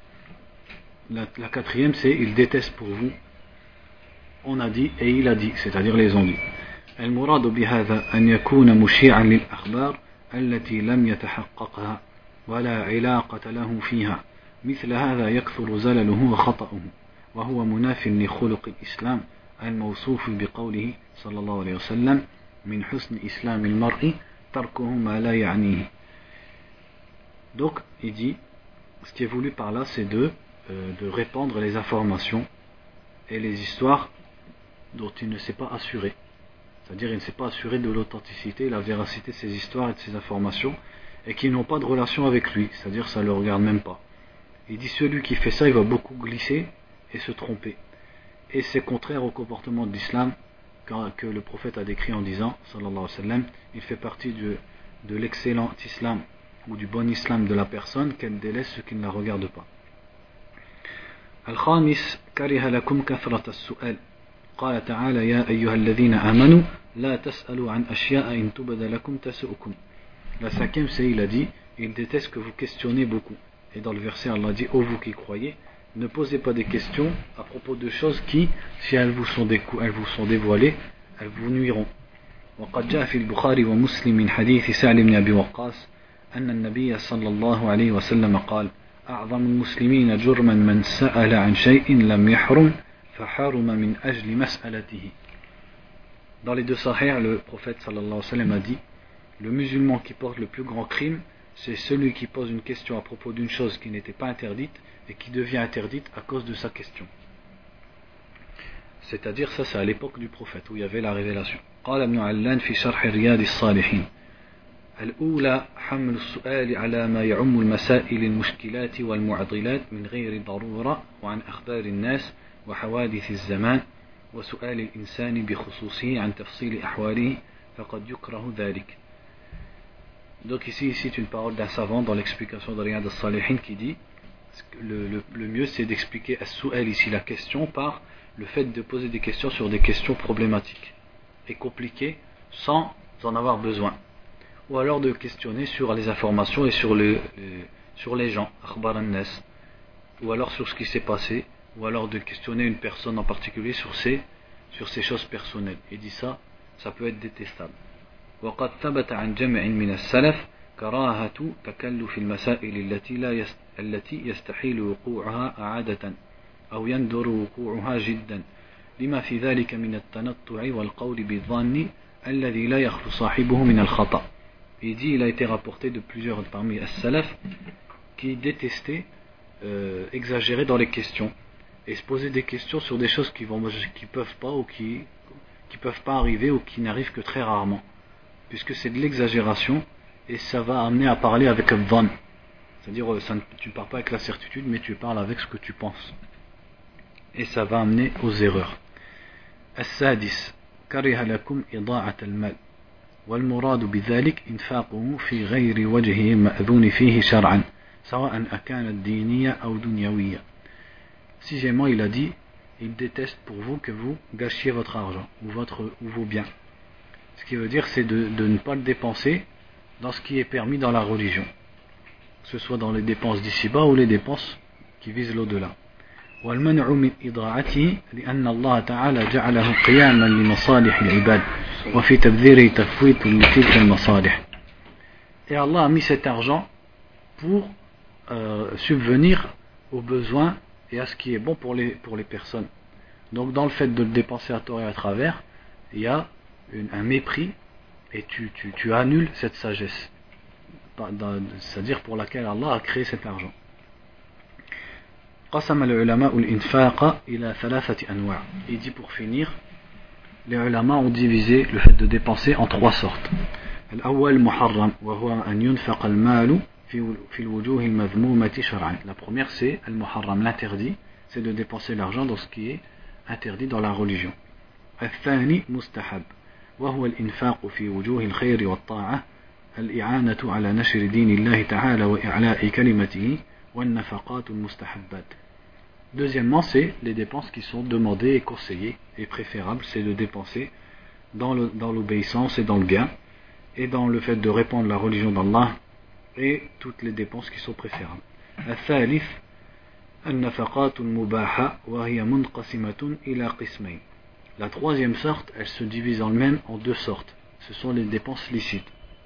La quatrième c'est il déteste pour vous on a dit et il a dit, c'est-à-dire les ont dit. المراد بهذا أن يكون مشيعا للأخبار التي لم يتحققها ولا علاقة له فيها مثل هذا يكثر زلله وخطأه وهو مناف لخلق الإسلام الموصوف بقوله صلى الله عليه وسلم من حسن إسلام المرء تركه ما لا يعنيه. Donc il dit, ce qui est voulu par là c'est de répandre les informations et les histoires dont il ne s'est pas assuré. C'est-à-dire il ne s'est pas assuré de l'authenticité, la véracité de ces histoires et de ces informations, et qui n'ont pas de relation avec lui, c'est-à-dire ça ne le regarde même pas. Il dit celui qui fait ça, il va beaucoup glisser et se tromper. Et c'est contraire au comportement de l'islam que le prophète a décrit en disant, sallallahu alayhi wa sallam, il fait partie de l'excellent islam ou du bon islam de la personne qu'elle délaisse ce qui ne la regarde pas. Al-Khamis, kariha lakum kathrat as-su'al. قال تعالى يا أيها الذين آمنوا لا تسألوا عن أشياء إن تبد لكم تسؤكم. La cinquième c'est il a dit il déteste que vous questionnez beaucoup. Et dans le verset Allah dit ô vous qui croyez ne posez pas des questions à propos de choses qui si elles vous sont dévoilées elles vous nuiront. وقد جاء في البخاري ومسلم من حديث سعد بن أبي وقاص أن النبي صلى الله عليه وسلم قال أعظم المسلمين جرما من سأل عن شيء لم يحرم. Dans les deux sahih, le prophète sallallahu alayhi wa sallam a dit le musulman qui porte le plus grand crime, c'est celui qui pose une question à propos d'une chose qui n'était pas interdite et qui devient interdite à cause de sa question. C'est-à-dire, ça c'est à l'époque du prophète où il y avait la révélation. قال ابن علان في شرح رياض الصالحين الأولى حمل السؤال على ما يعم المسائل المشكلات والمعضلات من غير ضرورة وعن أخبار الناس وحوادث الزمان وسؤال الإنسان بخصوصه عن تفصيل أحواله فقد يكره ذلك. Donc ici c'est une parole d'un savant dans l'explication de Riyad al-Salihin qui dit le mieux c'est d'expliquer as-su'al ici la question par le fait de poser des questions sur des questions problématiques et compliquées sans en avoir besoin, ou alors de questionner sur les informations et sur les gens, akhbar an-nas, ou alors sur ce qui s'est passé, ou alors de questionner une personne en particulier sur ses choses personnelles. Il dit ça peut être détestable. وقد ثبت عن جمع من السلف كراهة تكلف المسائل التي يستحيل وقوعها عادة أو يندر وقوعها جدا لما في ذلك من التنطع والقول بالظن الذي لا يخلو صاحبه من الخطأ. Il dit il a été rapporté de plusieurs parmi as-salaf qui détestaient exagérer dans les questions et se poser des questions sur des choses qui peuvent pas ou qui peuvent pas arriver ou qui n'arrivent que très rarement, puisque c'est de l'exagération et ça va amener à parler avec un dhann, c'est-à-dire tu ne parles pas avec la certitude mais tu parles avec ce que tu penses et ça va amener aux erreurs. السادس كره لكم إضاعة المال والمراد بذلك إنفاقه في غير وجهه مأذون فيه شرعا سواء أكانت دينية أو دنيوية. Sixièmement, il a dit il déteste pour vous que vous gâchiez votre argent ou vos biens. Ce qui veut dire c'est de ne pas le dépenser dans ce qui est permis dans la religion, que ce soit dans les dépenses d'ici-bas ou les dépenses qui visent l'au-delà. والمنع من إضاعته لأن الله تعالى جعله قياما لمصالح العباد وفي تبذيره تفويت لتلك المصالح. Et Allah a mis cet argent pour subvenir aux besoins et à ce qui est bon pour les personnes. Donc dans le fait de le dépenser à tort et à travers, il y a un mépris et tu annules cette sagesse, c'est-à-dire pour laquelle Allah a créé cet argent. قسم العلماء الإنفاق إلى ثلاثة أنواع. Il dit pour finir, les ulama ont divisé le fait de dépenser en trois sortes. الأول محرم وهو أن ينفق المال في الوجوه المذمومة شرعا. La première c'est al-muharram, l'interdit, c'est de dépenser l'argent dans ce qui est interdit dans la religion. الثاني مستحب وهو الإنفاق في وجوه الخير والطاعة الإعانة على نشر دين الله تعالى وإعلاء كلمته والنفقات المستحبات. Deuxièmement, c'est les dépenses qui sont demandées et conseillées et préférables, c'est de dépenser dans l'obéissance et dans le bien et dans le fait de répandre la religion d'Allah et toutes les dépenses qui sont préférables. الثالث النفقات المباحة وهي منقسمة إلى قسمين. La troisième sorte, elle se divise en elle-même en deux sortes. Ce sont les dépenses licites.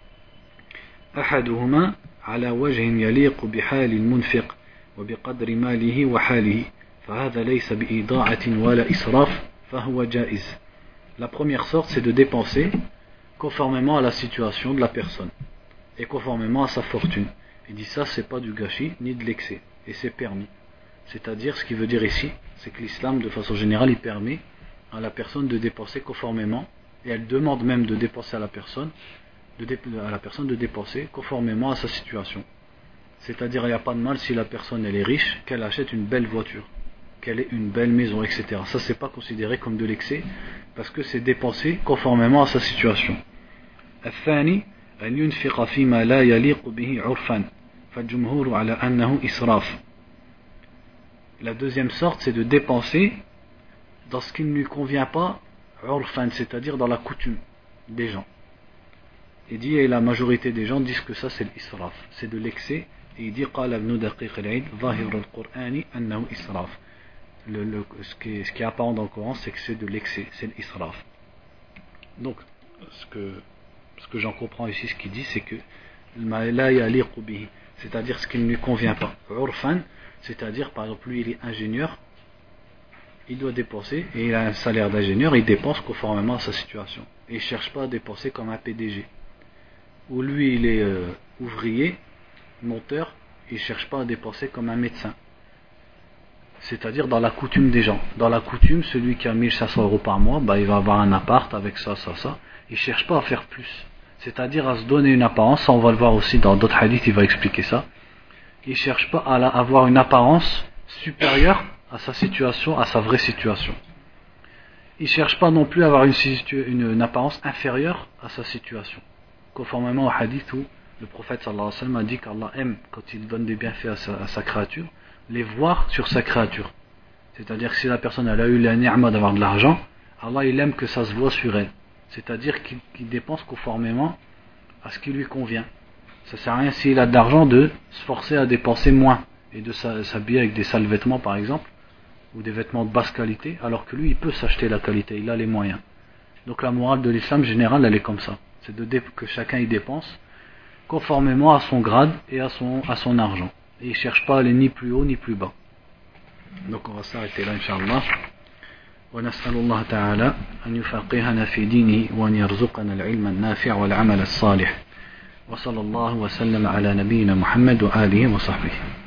أحدهما على وجه يليق بحال المنفق وبقدر ماله وحاله فهذا ليس بإضاعة ولا إسراف فهو جائز. La première sorte, c'est de dépenser conformément à la situation de la personne et conformément à sa fortune. Il dit ça, c'est pas du gâchis ni de l'excès et c'est permis. C'est-à-dire, ce qu'il veut dire ici, c'est que l'islam, de façon générale, il permet à la personne de dépenser conformément, et elle demande même de dépenser à la personne de dépenser conformément à sa situation. C'est-à-dire, il n'y a pas de mal si la personne elle est riche, qu'elle achète une belle voiture, qu'elle ait une belle maison, etc. Ça, c'est pas considéré comme de l'excès, parce que c'est dépensé conformément à sa situation. الثاني أن ينفق فيما لا يليق به عرفا فالجمهور على أنه إسراف. La deuxième sorte, c'est de dépenser dans ce qui ne lui convient pas, urfan, c'est-à-dire dans la coutume des gens. Il dit, et la majorité des gens disent que ça c'est l'israf, c'est de l'excès. Et il dit, قال ابن دقيق العيد ظاهر القرآن أنه إسراف. Ce qui est apparent dans le Coran, c'est que c'est de l'excès, c'est l'israf. Donc, ce que j'en comprends ici, ce qu'il dit, c'est que la yaliqu bihi, c'est-à-dire ce qui ne lui convient pas. Urfan, c'est-à-dire, par exemple, lui il est ingénieur, il doit dépenser, et il a un salaire d'ingénieur, il dépense conformément à sa situation. Et il ne cherche pas à dépenser comme un PDG. Ou lui il est ouvrier, monteur, il ne cherche pas à dépenser comme un médecin. C'est-à-dire dans la coutume des gens. Dans la coutume, celui qui a 1500 € par mois, il va avoir un appart avec ça. Il ne cherche pas à faire plus. C'est-à-dire à se donner une apparence, ça on va le voir aussi dans d'autres hadiths, il va expliquer ça. Il ne cherche pas à avoir une apparence supérieure à sa situation, à sa vraie situation. Il ne cherche pas non plus à avoir une apparence inférieure à sa situation. Conformément au hadith où le prophète sallallahu alayhi wa sallam a dit qu'Allah aime, quand il donne des bienfaits à sa créature, les voir sur sa créature. C'est-à-dire que si la personne elle a eu la ni'ma d'avoir de l'argent, Allah il aime que ça se voit sur elle. C'est-à-dire qu'il dépense conformément à ce qui lui convient. Ça sert à rien s'il a de l'argent de se forcer à dépenser moins et de s'habiller avec des sales vêtements par exemple, ou des vêtements de basse qualité, alors que lui il peut s'acheter la qualité, il a les moyens. Donc la morale de l'islam général elle est comme ça, c'est que chacun y dépense conformément à son grade et à son argent, et il ne cherche pas à aller ni plus haut ni plus bas. Donc on va s'arrêter là incha'Allah. ونسأل الله تعالى أن يفقهنا في دينه وأن يرزقنا العلم النافع والعمل الصالح وصلى الله وسلم على نبينا محمد وآله وصحبه.